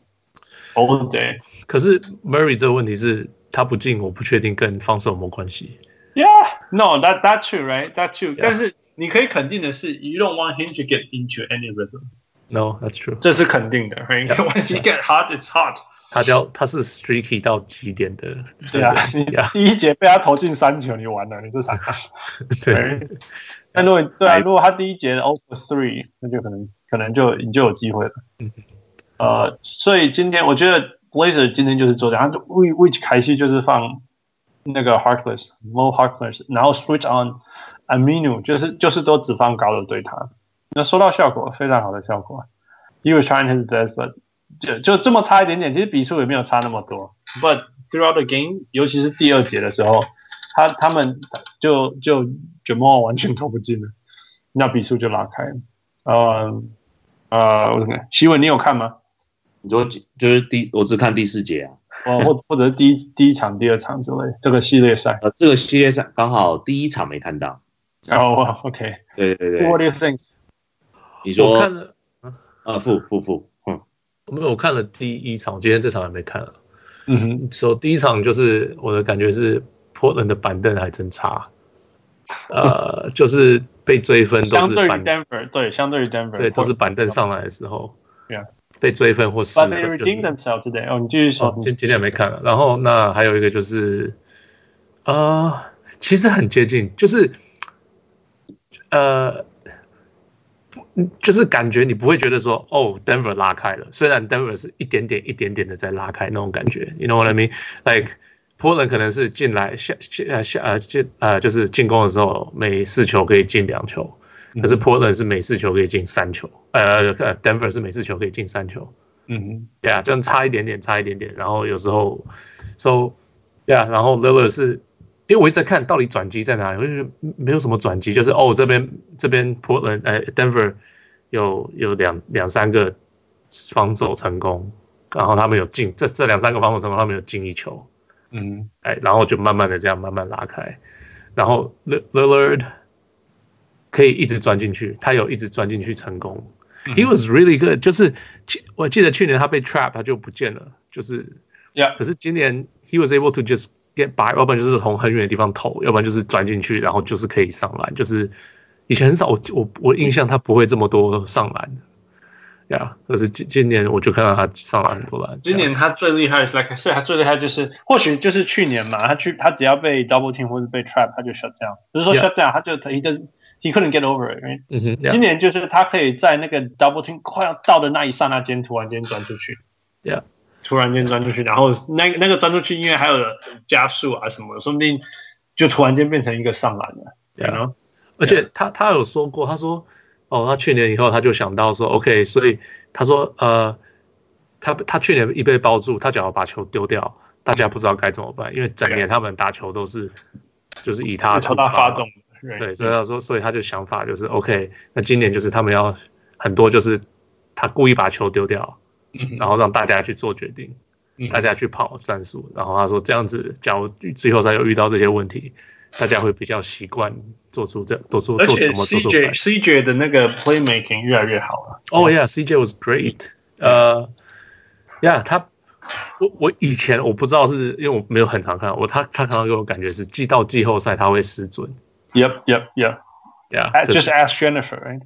all day. 可是 Murray 這個問題是他不進，我不確定跟防守有沒有關係。 Yeah, no, that that true, right? That true. Yeah. 但是你可以肯定的是 ，you don't want him to get into any rhythm. No, that's true. 這是肯定的 ，right? Yeah. Once he get hot, it's hot. 他叫他是 streaky 到極點的。 對啊，你第一節被他投進三球，你完了，你這場。對。但如果對啊，如果他第一節 zero for three， 那就可能可能就你就有機會了。嗯、呃，所以今天我覺得 Blazer 今天就是做這樣，他就 which 開始就是放那個 Harkless、Mo Harkless， 然後 switch on Aminu， 就是就是都只放高的對他，那收到效果非常好的效果。He was trying his best，but 就就這麼差一點點，其實比數也沒有差那麼多。But throughout the game， 尤其是第二節的時候。他他們就就 Jamal 完全投不進了，那比數就拉開了。呃呃，我看希文你有看嗎？ 你說就是第我只看第四節啊， 哦，或或者是第一第一場、第二場之類這個系列賽。 呃，這個系列賽剛好第一場沒看到。 哦 ，OK， 對對對。 What do you think？ 你說我看了， 呃，負負負，嗯， 沒有，我看了第一場，我今天這場還沒看了。 嗯哼， 說、so, 第一場就是我的感覺是。Portland 的板凳還真差，呃，就是被追分都是相對於 Denver， 對，相對於 Denver， 對，都是板凳上來的時候， yeah. 被追分或失分。But they redeemed themselves today。哦，你繼續說。 今今天沒看了。然後那還有一個就是，呃，其實很接近，就是，呃，就是感覺你不會覺得說，哦 ，Denver 拉開了，雖然 Denver 是一點點一點點的在拉開那種感覺 ，You know what I mean？ Like Portland 可能是進來下下下呃進呃就是進攻的時候每四球可以進兩球，可是 Portland 是每四球可以進三球，呃 Denver 是每四球可以進三球，嗯哼，對啊，這樣差一點點，差一點點，然後有時候 so 對啊，然後 Lillard 是因為我一直在看到底轉機在哪裡，我就覺得沒有什麼轉機，就是哦這邊這邊 Portland 呃 Denver 有有兩兩三個防守成功，然後他們有進這這兩三個防守成功，他們有進一球。嗯，哎，然後就慢慢的這樣慢慢拉開，然後 Lillard 可以一直鑽進去，他有一直鑽進去成功。嗯、He was really good， 就是我記得去年他被 trap 他就不見了，就是， yeah. 可是今年 he was able to just get by， 要不然就是從很遠的地方投，要不然就是鑽進去，然後就是可以上籃，就是以前很少我我我印象他不會這麼多上籃。Yeah， 可是今今年我就看到他上了很多籃。 今年他最厲害是 ，like 是他最厲害就是，或許就是去年嘛，他去他只要被 double team 或者被 trap， 他就 shut down。不是說 shut down， 他就 he does he couldn't get over it。Right？ 嗯哼。Yeah. 今年就是他可以在那個 double team 快要到的那一剎那間，突然間鑽出去。 Yeah， 突然間鑽出去，然後那那個鑽出去，因為還有加速啊什麼的，說不定就突然間變成一個上籃了。 Yeah， you know? 而且他他有說過，他說。哦，他去年以後他就想到說 ，OK， 所以他說，呃，他他去年一被包住，他只要把球丟掉，大家不知道該怎麼辦，因為整年他們打球都是就是以他出發， 發動， 對，所以他說，所以他就想法就是 OK， 那今年就是他們要很多就是他故意把球丟掉， 嗯、然後讓大家去做決定，嗯、大家去跑戰術。然後他說這樣子，假如季後賽有遇到這些問題，大家會比較習慣做出這做出做怎麼做出。 而且 C J C J 的那個 playmaking 越來越好了。 Oh yeah, C J was great. 呃、uh, ，Yeah， 他我我以前我不知道是因為我沒有很常看，我他他常常給我感覺是季到季後賽他會失準。 Yep, yep, yep. Yeah, just ask Jennifer, right?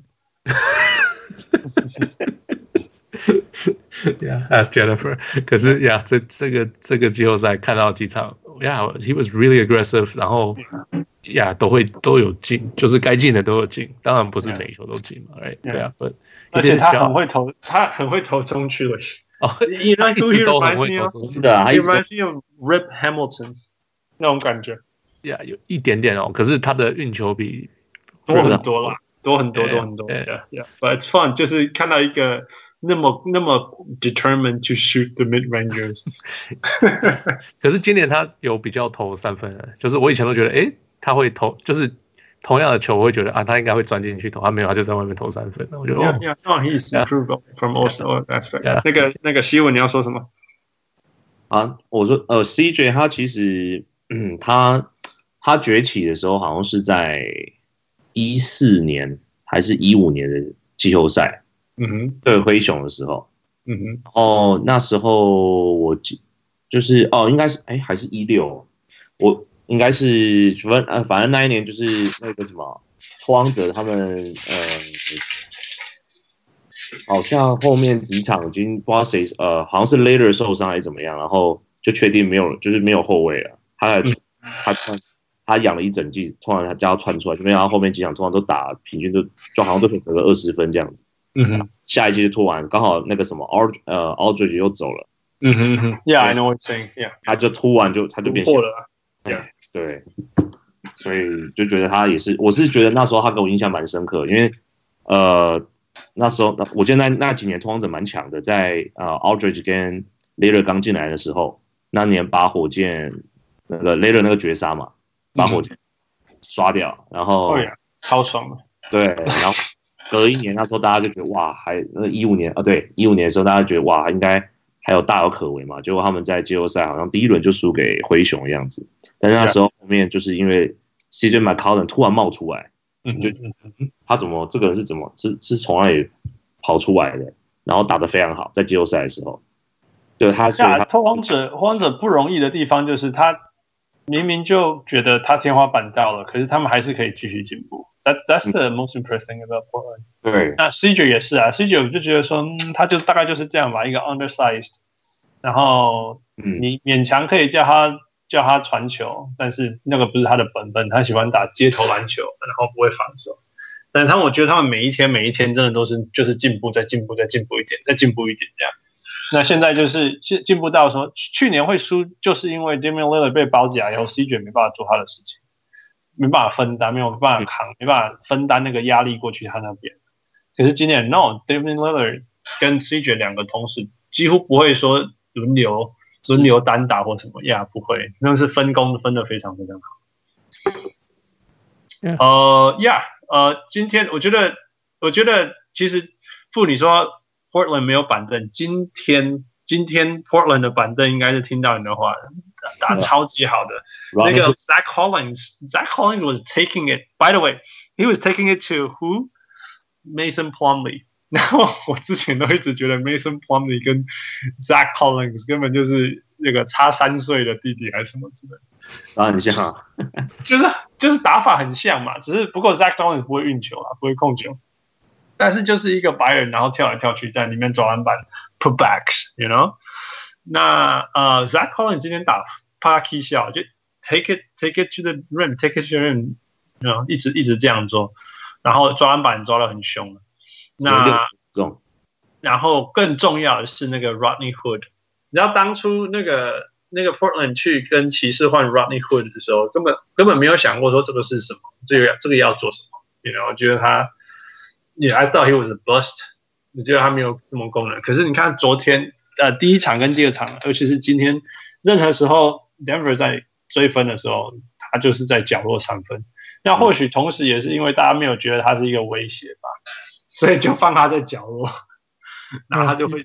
Yeah, ask Jennifer. 可是呀， yeah, 這這個這個季後賽看到幾場 ，Yeah, he was really aggressive. 然後呀， yeah, 都會都有進，就是該進的都有進。當然不是每一球都進嘛 ，Right? 對啊， 而且他很會投，他很會投中區的。 哦，他一直都很會投中區的。 He reminds me of Rip Hamilton 那種感覺。 Yeah, 有一點點哦，可是他的運球比多很多啦，多很多，多很多。Yeah, yeah. But it's fun， 就是看到一個。那麼那麼 determined to shoot the mid rangers， 可是今年他有比較投三分的，就是我以前都覺得，哎，他會投，就是同樣的球，我會覺得啊，他應該會鑽進去投，他沒有，他就在外面投三分。我覺得，哦 ，Yeah, yeah, no, he's improved from also aspect。那個那個希文你要說什麼？ 啊，我說呃 ，C J 他其實，嗯，他他崛起的時候好像是在一四年還是一五年的季後賽。 嗯哼， 對灰熊的時候， 嗯哼， 哦，那時候我就是哦，應該是哎，還是一六，我應該是反正呃，反正那一年就是那個什麼拓荒者他們呃，好像後面幾場已經不知道誰呃，好像是 Later 受傷還是怎麼樣，然後就確定沒有，就是沒有後衛了，他還、嗯、他他他養了一整季，突然他叫他竄出來，就沒想到後面幾場突然都打平均都就好像都可以得個二十分這樣子。 嗯哼， 下一季就拖完，剛好那個什麼 Ald 呃 Aldridge 又走了。 嗯哼哼 ，Yeah, I know what you're saying. Yeah， 他就突完就他就變小了。Yeah， 對，所以就覺得他也是，我是覺得那時候他給我印象蠻深刻，因為呃那時候我記得那那幾年拓荒者蠻強的，在呃 Aldridge 跟 Later 剛進來的時候，那年把火箭那個 Later 那個絕殺嘛，把火箭刷掉，然後、 嗯、超爽的。 對，然後。隔一年，那時候大家就覺得哇，還那一五年啊，對，一五年的時候大家覺得哇，應該還有大有可為嘛。結果他們在季後賽好像第一輪就輸給灰熊的樣子。但是那時候後面就是因為 C J McCollum 突然冒出來，嗯，就他怎麼這個人是怎麼是是從哪裡跑出來的，然後打得非常好，在季後賽的時候，對他所以他拓荒者拓荒者不容易的地方就是他明明就覺得他天花板到了，可是他們還是可以繼續進步。That that's the most impressive thing about Portland。 對， 那 C J 也是啊 ，C J 我就覺得說，嗯，他就大概就是這樣吧，一個 undersized， 然後你勉強可以叫他叫他傳球，但是那個不是他的本分，他喜歡打街頭籃球，然後不會防守。但是他們我覺得他們每一天每一天真的都是就是進步，再進步，再進步一點，再進步一點這樣。那現在就是進步到說，去年會輸，就是因為 Damian Lillard 被包夾以後 ，C J 沒辦法做他的事情。沒辦法分擔，沒有辦法扛，沒辦法分擔那個壓力過去他那邊。可是今年 ，no，Damian Lillard 跟 C J 兩個同時幾乎不會說輪流輪流單打或什麼呀， yeah, 不會，那是分工分得非常非常好。Yeah. 呃呀，呃，今天我覺得，我覺得其實傅你說 Portland 沒有板凳，今天今天 Portland 的板凳應該是聽到你的話。打超級好的，那個 Zach Collins，Zach Collins was taking it. By the way, he was taking it to who? Mason Plumlee. 然後我之前都一直覺得 Mason Plumlee 跟 Zach Collins 根本就是那個差三歲的弟弟還是什麼之類的。 打很像， 就是就是打法很像嘛，只是不過 Zach Collins 不會運球啊，不會控球，但是就是一個白人，然後跳來跳去在裡面抓籃板 ，putbacks，you know。那呃 ，Zach Collins 今天打帕基笑，就 take it take it to the rim，take it to the rim， 然後一直一直這樣做，然後抓籃板抓得很兇。那然後更重要的是那個 Rodney Hood， 你知道當初那個那個 Portland 去跟騎士換 Rodney Hood 的時候，根本根本沒有想過說這個是什麼，這個這個要做什麼。You know，我覺得他 ，Yeah, I thought he was a bust， 我覺得他沒有什麼功能。可是你看昨天。呃，第一場跟第二場，尤其是今天，任何時候 Denver 在追分的時候，他就是在角落三分。那或許同時也是因為大家沒有覺得他是一個威脅吧，所以就放他在角落，然後他就會他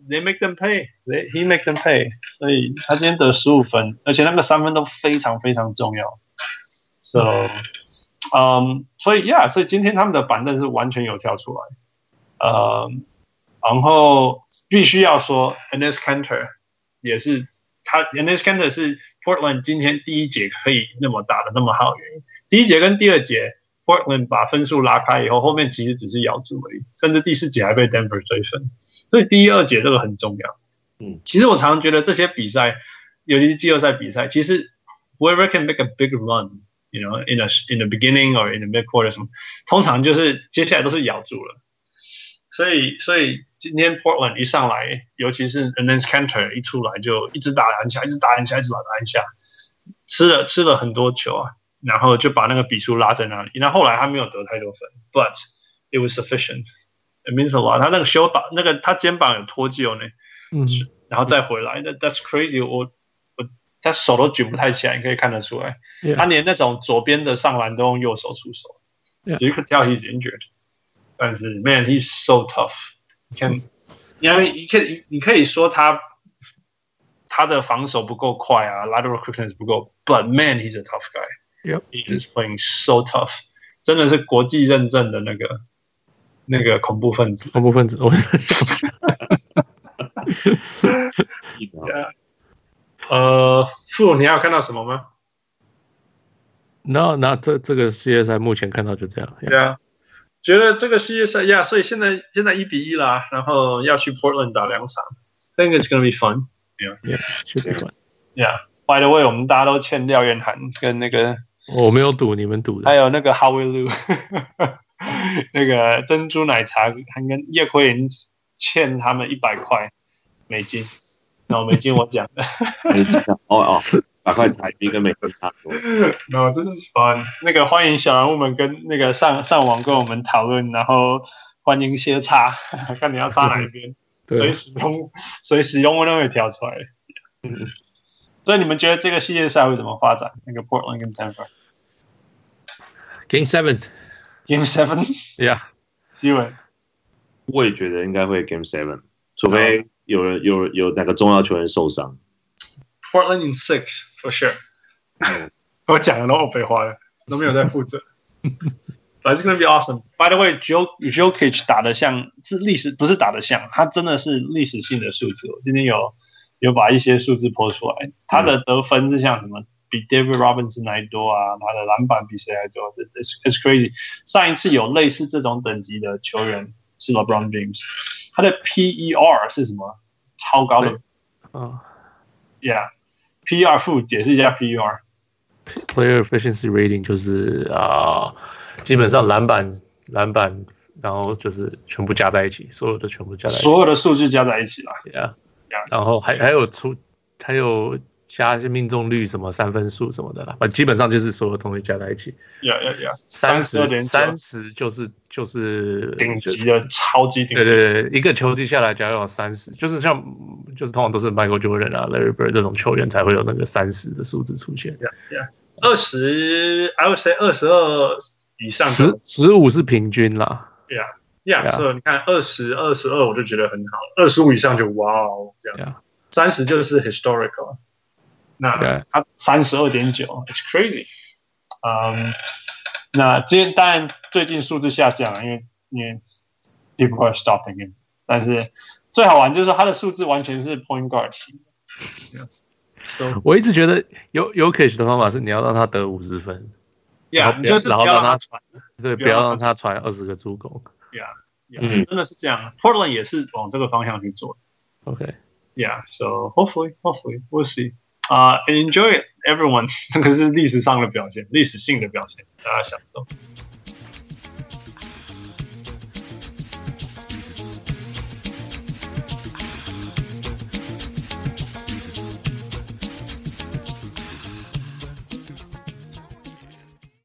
they make them pay. They, he make them pay. 所以他今天得十五分，而且那個三分都非常非常重要。So， 嗯，所以 yeah， 所以今天他們的板凳是完全有跳出來。呃，然後必須要說 Enes Kanter 也是他 Enes Kanter 是 Portland 今天第一節可以那麼打的那麼好的原因。第一節跟第二節 Portland 把分數拉開以後，後面其實只是咬住而已，甚至第四節還被 Denver 追分。所以第一、二節這個很重要。嗯，其實我常常覺得這些比賽，尤其是季後賽比賽，其實 whoever can make a big run，you know, in a in the beginning or in the mid quarter 什麼，通常就是接下來都是咬住了。所以，所以今天 Portland 一上來，尤其是 Enes Kanter 一出來就一直打籃下，一直打籃下，一直打籃下，吃了吃了很多球啊，然後就把那個比數拉在那裡。那後來他沒有得太多分 ，but it was sufficient. It means a lot. 他那個修把那個他肩膀有脫臼呢，嗯，然後再回來，那 that's crazy 我。我我他手都舉不太起來，你可以看得出來， yeah. 他連那種左邊的上籃都用右手出手。Yeah. So you could tell he's injured. 但是 man, he's so tough. You can, 因為你可以你可以說他他的防守不夠快啊 ，lateral quickness 不夠 ，but man, he's a tough guy. Yep. He is playing so tough. 真的是國際認證的那個。那個恐怖分子， 恐怖分子，我 yeah. 呃，傅，你還有看到什麼嗎？ 那那這這個系列賽目前看到就這樣。 對啊，覺得這個系列賽呀， yeah, 所以現在現在一比一啦，然後要去 Portland 打兩場 ，I think it's gonna be fun. Yeah, yeah, should be fun. Yeah. By the way, 我們大家都欠廖彥涵跟那個， 我沒有賭，你們賭的。 還有那個 Howie Liu。那個珍珠奶茶還跟葉奎林欠他們一百塊美金，然後美金我講的， 美金哦哦，百塊台幣跟美金差不多。 No, this is fun。那個歡迎小人物們跟那個上上網跟我們討論，然後歡迎些插，看你要插哪一邊，隨時用隨時用都會跳出來。嗯，所以你們覺得這個系列賽會怎麼發展？那個 Portland 跟 Denver。Game Seven。Game Seven, yeah， 希文， 我也覺得應該會 Game Seven， 除非有人有有哪個重要球員受傷。 Portland in six for sure 。我講的都我廢話了，都沒有在負責。But it's gonna be awesome. By the way, Jokic 打得像是歷史，不是打得像，他真的是歷史性的數字。我今天有有把一些數字拋出來，他的得分是像什麼？比 David Robinson 還多啊，他的籃板比誰還多 it's, it's crazy。上一次有類似這種等級的球員是 LeBron James， 他的 P E R 是什麼？超高的。 哦 Yeah，P E R 負解釋一下 P E R。Player Efficiency Rating 就是啊、呃，基本上籃板籃板，然後就是全部加在一起，所有的全部加在一起， 所有的數據加在一起啦。 Yeah，, yeah. 然後還還有出還有。加一些命中率什麼三分數什麼的啦，基本上就是所有東西加在一起。 Yeah, yeah, yeah. 三十三十就是就是頂級的超級頂級。 對對對，一個球季下來，假如有三十，就是像就是通常都是 Michael Jordan 啊、Larry Bird 這種球員才會有那個三十的數字出現。 Yeah, yeah. 二十 I would say 二十二以上。 十十五是平均啦。 Yeah, yeah. 所以你看二十二十二我就覺得很好，二十五以上就哇哦這樣子，三十就是 historical。那他三十二點九 ，it's crazy。嗯，那今天當然最近數字下降了，因為因為 people are stopping him。但是最好玩就是說他的數字完全是 point guard 型的。So, 我一直覺得有有 Jokic 的方法是你要讓他得五十分， yeah, 你就是不要讓他傳， 對，不要讓他傳二十個助攻。 Yeah, yeah, 嗯，真的是這樣。Portland 也是往這個方向去做。 OK, yeah, so hopefully, hopefully, we'll see. 啊、uh, ，enjoy it, everyone。這個是歷史上的表現，歷史性的表現，大家享受。